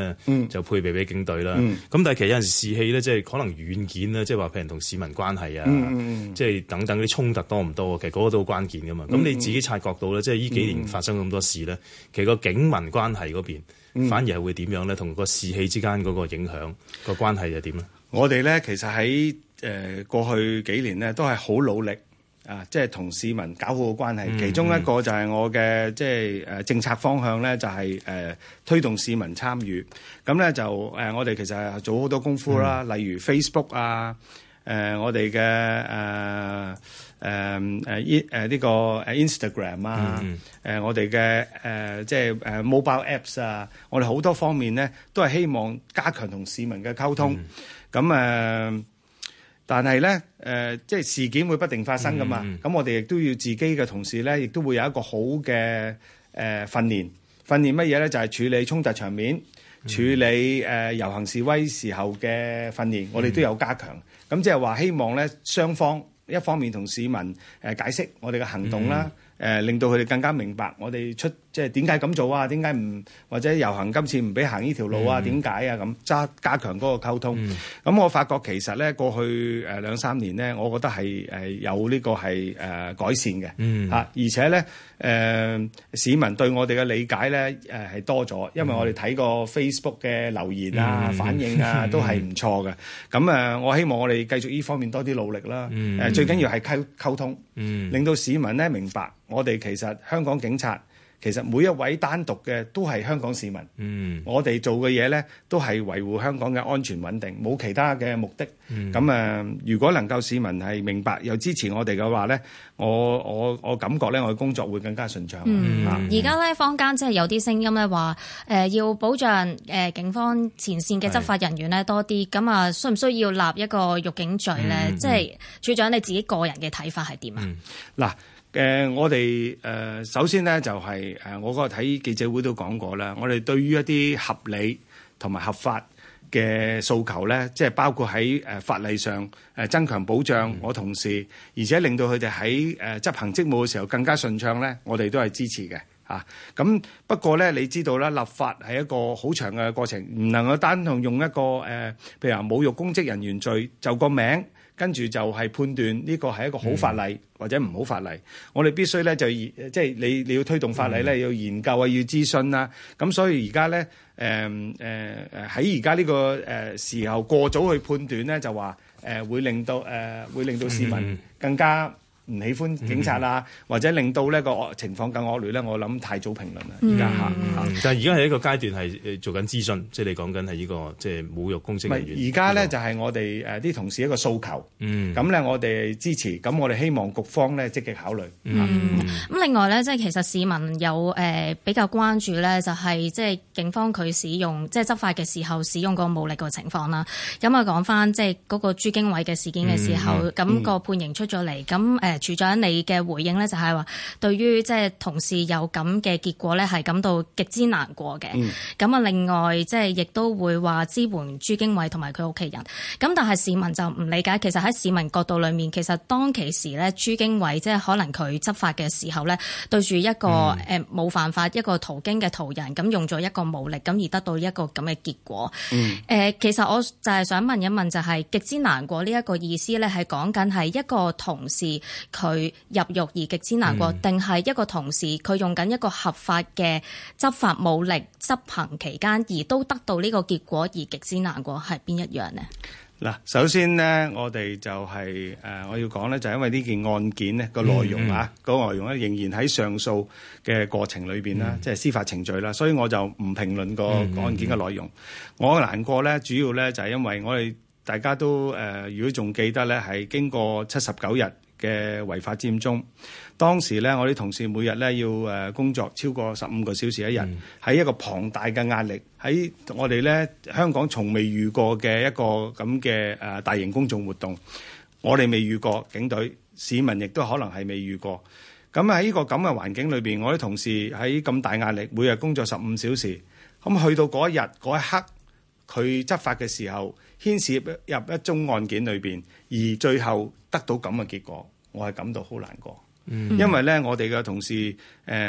就配備俾警隊啦。咁但係其實有陣時士氣咧，即係可能軟件咧，即係話譬如同市民關係啊，即係等等啲衝突多唔多，其實嗰個都好關鍵噶嘛。咁你自己察覺到咧，即係呢幾年發生咁多事咧，其實個警民關係嗰邊反而係會點樣咧？同個士氣之間嗰個影響個關係又點咧？ 我哋咧其實喺過去幾年咧都係好努力即係同市民搞好個關係。其中一個就係我嘅即係政策方向咧，就係推動市民參與。咁咧就我哋其實係做好多功夫啦，例如 Facebook 啊，我哋嘅呢個Instagram 啊，我哋嘅即係mobile apps 啊，我哋好多方面咧都係希望加強同市民嘅溝通。咁但係咧即係事件會不定發生噶嘛。咁我哋亦都要自己嘅同事咧，亦都會有一個好嘅訓練。訓練乜嘢咧？就係處理衝突場面，處理遊行示威時候嘅訓練，我哋都有加強。咁即係話希望咧雙方一方面同市民解釋我哋嘅行動啦，令到佢哋更加明白我哋即係點解咁做啊？點解唔或者遊行今次唔俾行呢條路啊？點解啊？咁加強嗰個溝通。咁我發覺其實咧過去2-3年咧，我覺得係有呢個係改善嘅嚇，而且咧市民對我哋嘅理解咧係多咗，因為我哋睇過 Facebook 嘅留言啊、反應啊都係唔錯嘅。咁我希望我哋繼續呢方面多啲努力啦。最緊要係溝通，令到市民咧明白我哋其實香港警察。其實每一位單獨嘅都係香港市民，我哋做嘅嘢咧都係維護香港嘅安全穩定，冇其他嘅目的。咁如果能夠市民係明白又支持我哋嘅話咧，我感覺咧我嘅工作會更加順暢。 而家咧坊間即係有啲聲音咧話要保障警方前線嘅執法人員咧多啲，咁啊需唔需要立一個辱警罪咧？即係處長你自己個人嘅睇法係點啊？ 嗱。我哋首先咧就係我嗰個睇記者會都講過啦，我哋對於一啲合理同埋合法嘅訴求咧，即係包括喺法例上增強保障我同事，而且令到佢哋喺執行職務嘅時候更加順暢咧，我哋都係支持嘅嚇。咁不過咧，你知道啦，立法係一個好長嘅過程，唔能夠單同用一個譬如話侮辱公職人員罪就個名。跟住就係判斷呢個係一個好法例或者唔好法例，我哋必須咧就即係你要推動法例咧，要研究啊，要諮詢啦。咁所以而家咧喺而家呢個時候過早去判斷咧，就話會令到市民更加唔喜歡警察啊，或者令到呢個情況更惡劣咧，我諗太早評論啦。而家但係而家係一個階段係做緊諮詢，即係你講緊係呢個即係侮辱公職人員。 而家咧就係我哋啲同事一個訴求，咁咧我哋支持，咁我哋希望局方咧積極考慮。 咁另外咧，即係其實市民有比較關注咧，就係即係警方佢使用即係執法嘅時候使用個武力個情況啦。咁啊講翻即係嗰個朱經緯嘅事件嘅時候，咁個判刑出咗嚟，咁處長你嘅回應咧就係話，對於即係同事有咁嘅結果咧，係感到極之難過嘅。咁啊，另外即係亦都會話支援朱經緯同埋佢屋企人。咁但係市民就唔理解，其實喺市民角度裏面，其實當其時咧，朱經緯即係可能佢執法嘅時候咧，對住一個冇犯法一個途經嘅途人，咁用咗一個武力，咁而得到一個咁嘅結果。其實我就係想問一問，就係極之難過呢一個意思咧，係講緊係一個同事佢入獄而極之難過，定係一個同事佢用緊一個合法嘅執法武力執行期間而都得到呢個結果而極之難過，係邊一樣呢？ 嗱，首先呢，我哋就係我要講咧，就係因為呢件案件呢個內容個內容咧仍然喺上訴嘅過程裏邊啦，即係司法程序啦，所以我就唔評論個案件嘅內容。我難過咧，主要咧就係因為我哋大家都如果仲記得咧，係經過79日嘅違法佔中，當時咧我啲同事每日咧要工作超過15個小時一日，喺一個龐大嘅壓力，喺我哋咧香港從未遇過嘅一個咁嘅大型公眾活動，我哋未遇過，警隊市民亦都可能係未遇過。咁喺呢個咁嘅環境裏邊，我啲同事喺咁大壓力，每日工作15小時，咁去到嗰一日嗰一刻，佢執法嘅時候牽涉入一宗案件裏邊，而最後得到咁嘅結果，我係感到好難過。因為咧，我哋嘅同事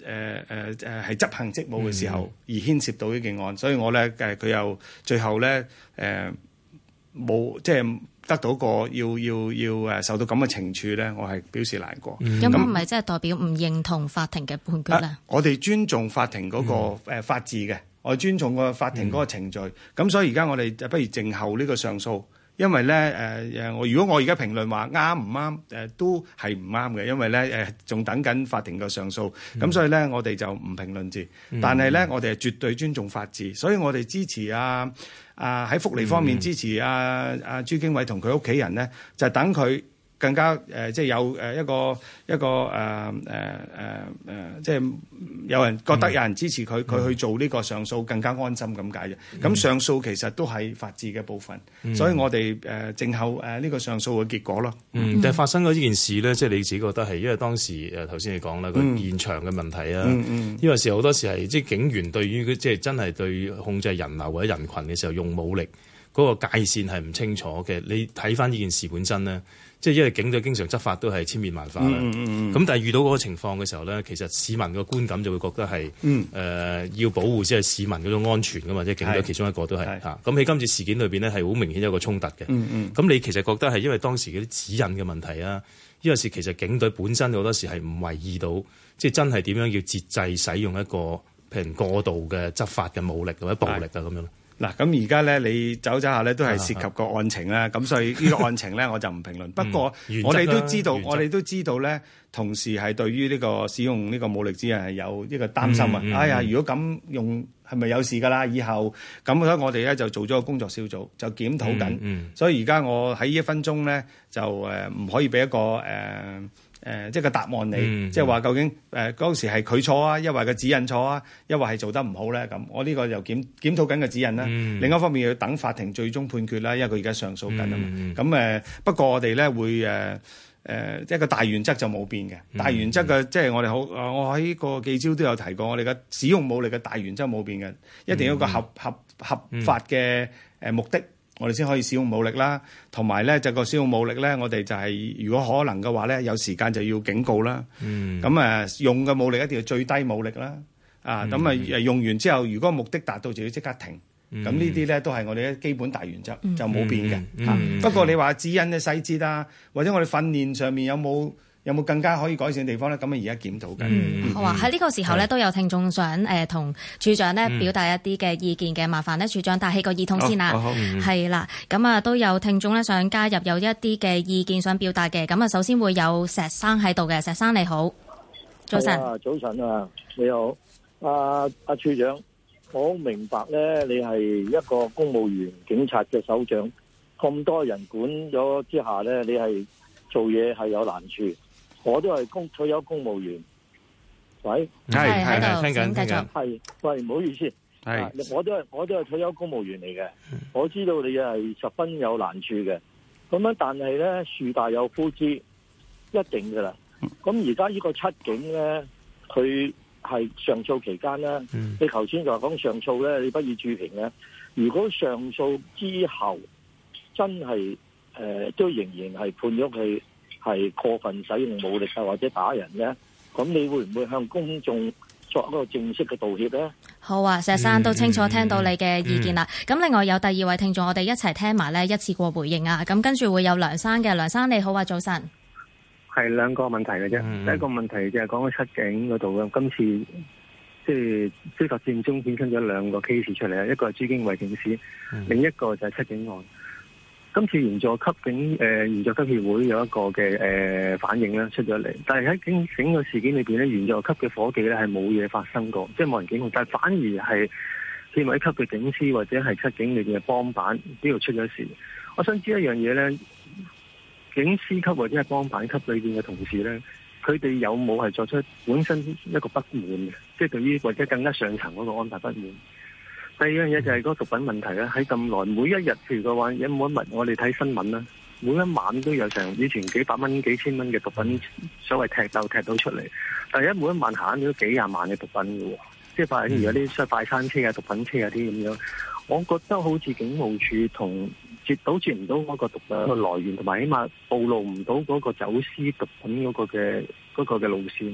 係執行職務嘅時候而牽涉到呢件案，所以我咧佢又最後咧冇即係得到個要受到咁嘅懲處咧，我係表示難過。 咁係咪即係代表唔認同法庭嘅判決咧？ 我哋尊重法庭嗰個法治嘅，我哋尊重個法庭嗰個程序。咁所以而家我哋不如靜候呢個上訴。因為咧如果我而家評論話啱唔啱都係唔啱嘅，因為咧仲等緊法庭嘅上訴，咁所以咧我哋就唔評論住。但係咧我哋係絕對尊重法治，所以我哋支持喺福利方面支持朱經緯同佢屋企人咧，就等佢更加即係有一個即係有人覺得有人支持佢去做呢個上訴更加安心咁解啫。咁上訴其實都係法治嘅部分，所以我哋靜候呢個上訴嘅結果咯。 但係發生咗呢件事咧，即係你自己覺得係因為當時頭先你講啦個現場嘅問題啊，呢個時候好多時係即係警員對於即係真係對控制人流或者人群嘅時候用武力嗰個界線係唔清楚嘅。你睇翻呢件事本身咧。即係因為警隊經常執法都係千變萬化啦，咁但係遇到嗰個情況嘅時候咧，其實市民嘅觀感就會覺得係要保護即係市民嗰種安全噶嘛，即係警隊其中一個都係嚇。咁喺今次事件裏邊咧係好明顯有個衝突嘅。咁你其實覺得係因為當時嗰啲指引嘅問題啊，呢個事其實警隊本身好多時係唔為意到，即係真係點樣要節制使用一個譬如過度嘅執法嘅武力或者暴力啊咁樣。 嗱，咁而家咧，你走下咧都係涉及個案情啦，咁所以呢個案情咧我就唔評論。不過我哋都知道咧，同時係對於呢個使用呢個武力之人係有呢個擔心啊！哎呀，如果咁用係咪有事㗎啦？以後咁所以我哋咧就做咗個工作小組，就檢討緊。所以而家我喺呢1分鐘咧就唔可以俾一個即係個答案你，即係話究竟嗰時係佢錯啊，抑或個指引錯啊，抑或係做得唔好咧？咁我呢個又檢討緊個指引啦。另一方面要等法庭最終判決啦，因為佢而家上訴緊啊嘛。咁不過我哋咧會即係個大原則就冇變嘅。大原則嘅即係我哋我喺個記招都有提過，我哋嘅使用武力嘅大原則冇變嘅，一定要有個合法嘅目的。我哋先可以使用武力啦，同埋咧就個使用武力咧，我哋就係如果可能嘅話咧，有時間就要警告啦。咁用嘅武力一定要最低武力啦。用完之後，如果目的達到就要即刻停。咁呢啲咧都係我哋嘅基本大原則，就冇變嘅。不過你話指引嘅細節啊，或者我哋訓練上面有冇更加可以改善嘅地方咧？咁而家檢討緊。 好啊！喺呢個時候咧，都有聽眾想同處長咧表達一啲嘅意見嘅，麻煩咧處長戴起個耳筒先啦。係啦，咁都有聽眾咧想加入有一啲嘅意見想表達嘅。咁首先會有石生喺度嘅，石生你好，早晨。 早晨啊，你好，阿處長，我好明白咧，你係一個公務員警察嘅首長，咁多人管咗之下咧，你係做嘢係有難處。我都係退休公務員，喂， 係聽緊， 係，喂，唔好意思，我都係退休公務員嚟嘅，我知道你係十分有難處嘅，咁樣但係咧樹大有枯枝，一定噶啦。咁而家呢個七警咧，佢係上訴期間咧，你頭先就講上訴咧，你不予置評咧。如果上訴之後真係都仍然係判咗佢係過分使用武力啊，或者打人咧，咁你會唔會向公眾作一個正式嘅道歉咧？ 好啊，石生都清楚聽到你嘅意見啦。咁另外有第二位聽眾，我哋一齊聽埋咧，一次過回應啊。咁跟住會有梁生嘅，梁生你好啊，早晨。 係兩個問題嘅啫。第一個問題就係講咗七警嗰度，今次即係司法戰中衍生咗兩個 case 出嚟啊，一個係朱經緯警司，另一個就係七警案。今次員佐級警員佐級協會有一個嘅反應咧出咗嚟，但係喺整個事件裏邊咧，員佐級嘅伙計咧係冇嘢發生過，即係冇人檢控，但係反而係憲委級嘅警司或者係七警裏邊嘅幫辦呢度出咗事。我想知一樣嘢咧，警司級或者係幫辦級裏邊嘅同事咧，佢哋有冇係作出本身一個不滿嘅，即係對於或者更加上層嗰個安排不滿？第二樣嘢就係嗰個毒品問題啦，喺咁耐每一日譬如嘅話，有冇一日我哋睇新聞啦，每一晚都有成以前幾百蚊、幾千蚊嘅毒品所謂踢到出嚟，但係每一晚行咗幾廿萬嘅毒品嘅喎，即係反而有啲快餐車啊、毒品車啊啲咁樣，我覺得好似警務處同杜絕唔到嗰個毒品嘅來源，同埋起碼暴露唔到嗰個走私毒品嗰個嘅路線。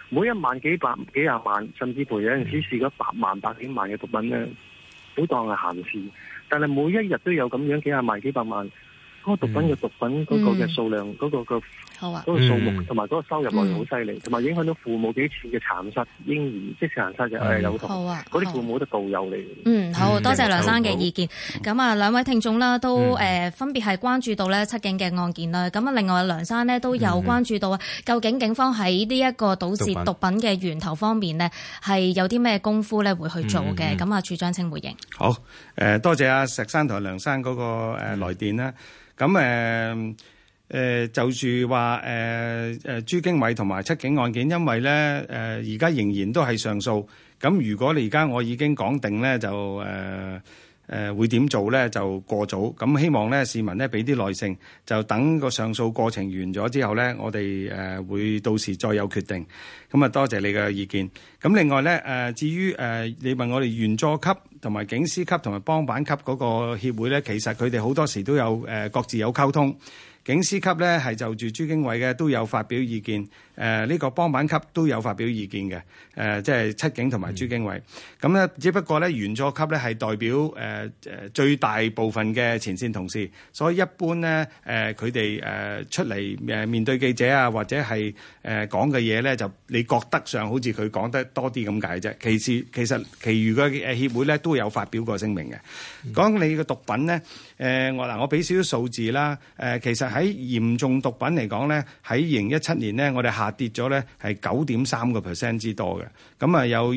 每一晚幾廿萬，甚至乎有陣時試過100萬、100幾萬嘅毒品咧，好當係閒事。但係每一日都有咁樣幾廿萬、幾百萬，嗰個毒品嘅嗰個嘅數量，嗰個數目同埋嗰個收入來源好犀利，同埋影響到父母幾次嘅殘殺嬰兒，即係殘殺嘅有同。嗰啲父母都導遊嚟嘅。 好多謝梁生嘅意見。咁啊，兩位聽眾啦，都分別係關注到咧七警嘅案件啦。咁啊，另外梁生呢都有關注到究竟警方喺呢一個堵截毒品嘅源頭方面呢，係有啲咩功夫咧會去做嘅。咁啊，處長請回應。 好，多謝阿石生同梁生嗰個來電啦。咁就住話朱經緯同埋七警案件，因為咧而家仍然都係上訴。咁如果你而家我已經講定咧，就會點做咧，就過早。咁希望咧市民咧俾啲耐性，就等個上訴過程完咗之後咧，我哋會到時再有決定。咁啊，多謝你嘅意見。咁另外咧至於你問我哋員佐級同埋警司級同埋幫辦級嗰個協會咧，其實佢哋好多時都有各自有溝通。警司級咧係就住朱經緯嘅都有發表意見，呢個幫辦級都有發表意見嘅，即係七警同埋朱經緯。咁咧只不過咧員佐級咧係代表最大部分嘅前線同事，所以一般咧佢哋出嚟面對記者啊或者係講嘅嘢咧，就你覺得上好似佢講得多啲咁解啫。其實其餘嘅協會咧都有發表過聲明嘅。講你嘅毒品咧，我俾少少數字啦，其實喺嚴重毒品嚟講咧，喺2017年咧，我哋下跌咗咧係9.3% 之多嘅，咁啊有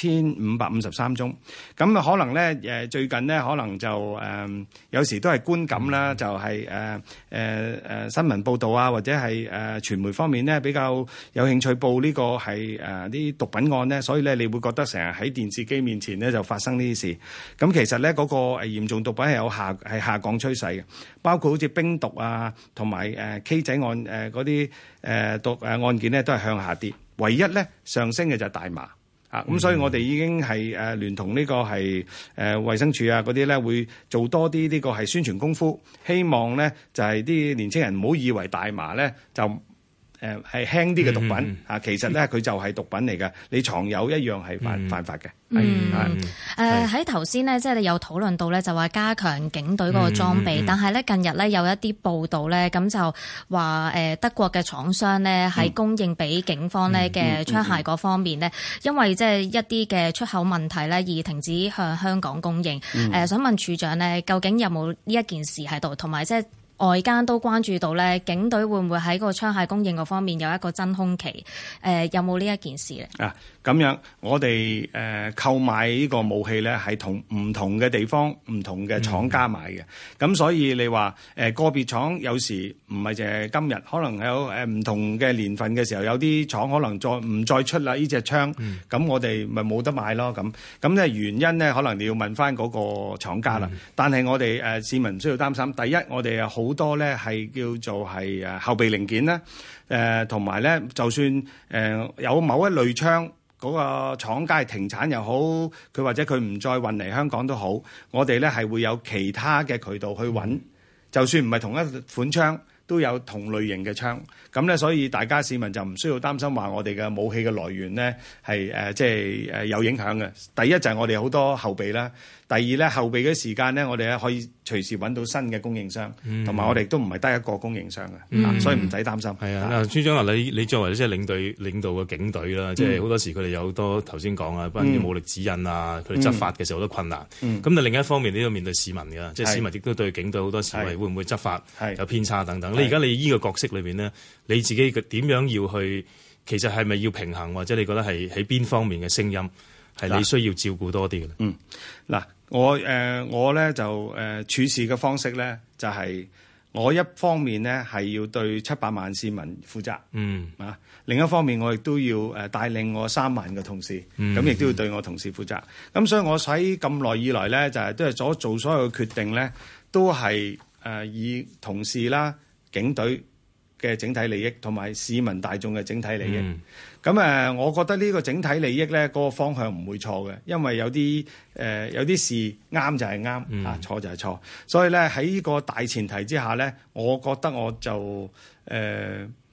1553宗，咁啊可能咧最近咧可能就有時都係觀感啦，就係新聞報導啊或者係傳媒方面咧比較有興趣報呢個係啲毒品案咧，所以咧你會覺得成日喺電視機面前咧就發生呢啲事，咁其實咧嗰個嚴重毒品係有下降趨勢嘅，包括好似冰毒啊。同埋K 仔案嗰啲毒案件咧都係向下跌，唯一咧上升嘅就係大麻啊！咁所以我哋已經係聯同呢個係衛生署啊嗰啲咧會做多啲呢個係宣傳功夫，希望咧就係啲年青人唔好以為大麻咧就係輕啲嘅毒品啊，其實咧佢就係毒品嚟嘅，你藏有一樣係犯法嘅。 喺頭先呢，即係你有討論到咧，就話加強警隊嗰個裝備，但係咧近日咧有一啲報道咧，咁就話德國嘅廠商咧喺供應俾警方咧嘅槍械嗰方面咧，因為即係一啲嘅出口問題咧而停止向香港供應。想問處長咧，究竟有冇呢一件事喺度，同埋即係外間都關注到咧，警隊會唔會喺個槍械供應嗰方面有一個真空期？有冇呢一件事咧？ 咁樣我哋購買呢個武器咧，係同唔同嘅地方、唔同嘅廠家買嘅。咁所以你話個別廠有時唔係淨係今日，可能有唔同嘅年份嘅時候，有啲廠可能唔再出啦呢隻槍，咁我哋咪冇得買咯。咁咧原因咧，可能你要問翻嗰個廠家啦。但係我哋市民唔需要擔心。第一，我哋有好多咧係叫做係後備零件啦，同埋咧就算有某一類槍。嗰個廠家係停產又好，佢或者佢唔再運嚟香港都好，我哋咧係會有其他嘅渠道去揾，就算唔係同一款槍，都有同類型嘅槍。咁咧，所以大家市民就唔需要擔心話我哋嘅武器嘅來源咧係即係有影響嘅。第一就係我哋好多後備啦，第二咧後備嘅時間咧，我哋咧可以隨時揾到新嘅供應商，同埋我哋都唔係得一個供應商嘅，所以唔使擔心。係啊，處長啊，你作為即係領導嘅警隊啦，即係好多時佢哋有好多頭先講啊，關於武力指引啊，佢哋執法嘅時候好多困難。咁但另一方面，你都要面對市民㗎，即係市民亦都對警隊好多時會唔會執法有偏差等等。你而家你呢個角色裏邊呢，你自己點樣要去？其實係咪要平衡，或者你覺得係喺邊方面嘅聲音係你需要照顧多啲嘅？ 嗱，我咧就處事嘅方式咧，就係我一方面咧係要對700萬市民負責，另一方面我亦都要帶領我3萬嘅同事，咁亦都要對我同事負責。咁所以我喺咁耐以來咧，就係都係做所有嘅決定咧，都係以同事啦、警隊嘅整體利益同埋市民大眾嘅整體利益，咁我覺得呢個整體利益咧，嗰個方向唔會錯嘅，因為有啲事啱就係啱，錯就係錯，所以咧喺呢個大前提之下咧，我覺得我就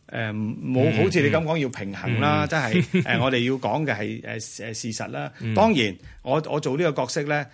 冇好似你咁講要平衡啦，即係我哋要講嘅係事實啦。當然，我做呢個角色咧。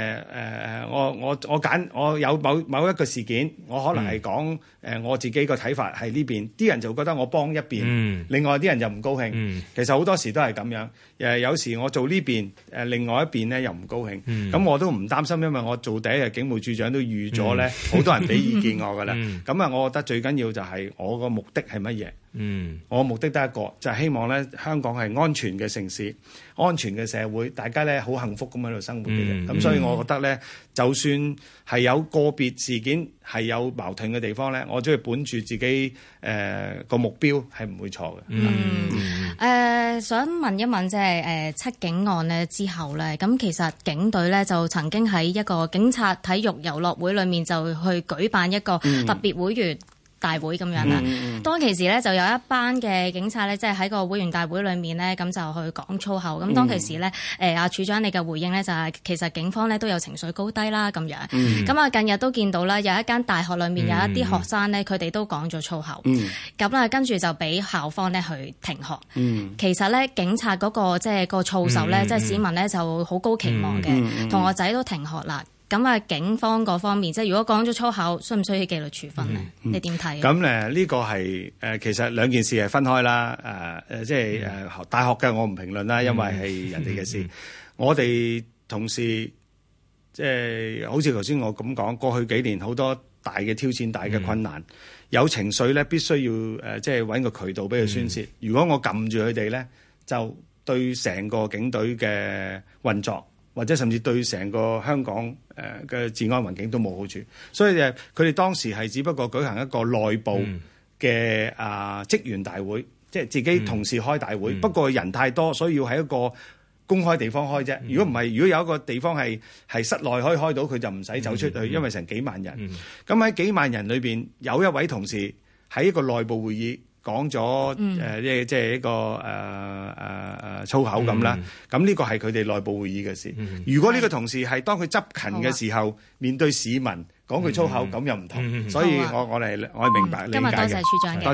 我有某一個事件，我可能係講我自己個睇法係呢邊，啲人就覺得我幫一邊，另外啲人就唔高興。其實好多時都係咁樣。有時我做呢邊，另外一邊咧又唔高興。咁我都唔擔心，因為我做第一日警務處長都預咗咧，好多人俾意見我㗎啦。咁啊，我覺得最緊要就係我個目的係乜嘢？我目的得一個，就係希望咧香港係安全嘅城市、安全嘅社會，大家咧好幸福咁喺度生活嘅啫。咁所以我覺得咧，就算係有個別事件係有矛盾嘅地方咧，我都係本住自己個目標係唔會錯嘅。 想問一問即係七警案咧之後咧，咁其實警隊咧就曾經喺一個警察體育遊樂會裏面就去舉辦一個特別會員大會咁樣啦，當其時咧就有一班嘅警察咧，即係喺個會員大會裏面咧，咁就去講粗口。咁當其時咧，阿處長你嘅回應咧就係其實警方咧都有情緒高低啦咁樣。咁啊近日都見到啦，有一間大學裏面有一啲學生咧，佢哋都講咗粗口。咁啊跟住就俾校方咧去停學。其實咧警察嗰個即係個操守咧，即係市民咧就好高期望嘅，同學仔都停學啦。咁啊，警方嗰方面，即係如果講咗粗口，需唔需要紀律處分咧？你點睇？ 咁呢個係其實兩件事係分開啦。即係大學嘅我唔評論啦，因為係人哋嘅事。我哋同事即係好似頭先我咁講，過去幾年好多大嘅挑戰、大嘅困難，有情緒咧，必須要即係揾個渠道俾佢宣泄。如果我撳住佢哋咧，就對成個警隊嘅運作，或者甚至對成個香港嘅治安環境都冇好處，所以佢哋當時係只不過舉行一個內部嘅職員大會，即係自己同事開大會。不過人太多，所以要喺一個公開地方開啫。如果唔係，如果有一個地方係室內可以開到，佢就唔使走出去，因為成幾萬人。咁喺幾萬人裏邊，有一位同事喺一個內部會議講咗即係一個粗口咁啦，咁呢個係佢哋內部會議嘅事。如果呢個同事係當佢執勤嘅時候，面對市民講句粗口，咁又唔同。所以我係明白理解嘅。今日多謝處長嘅。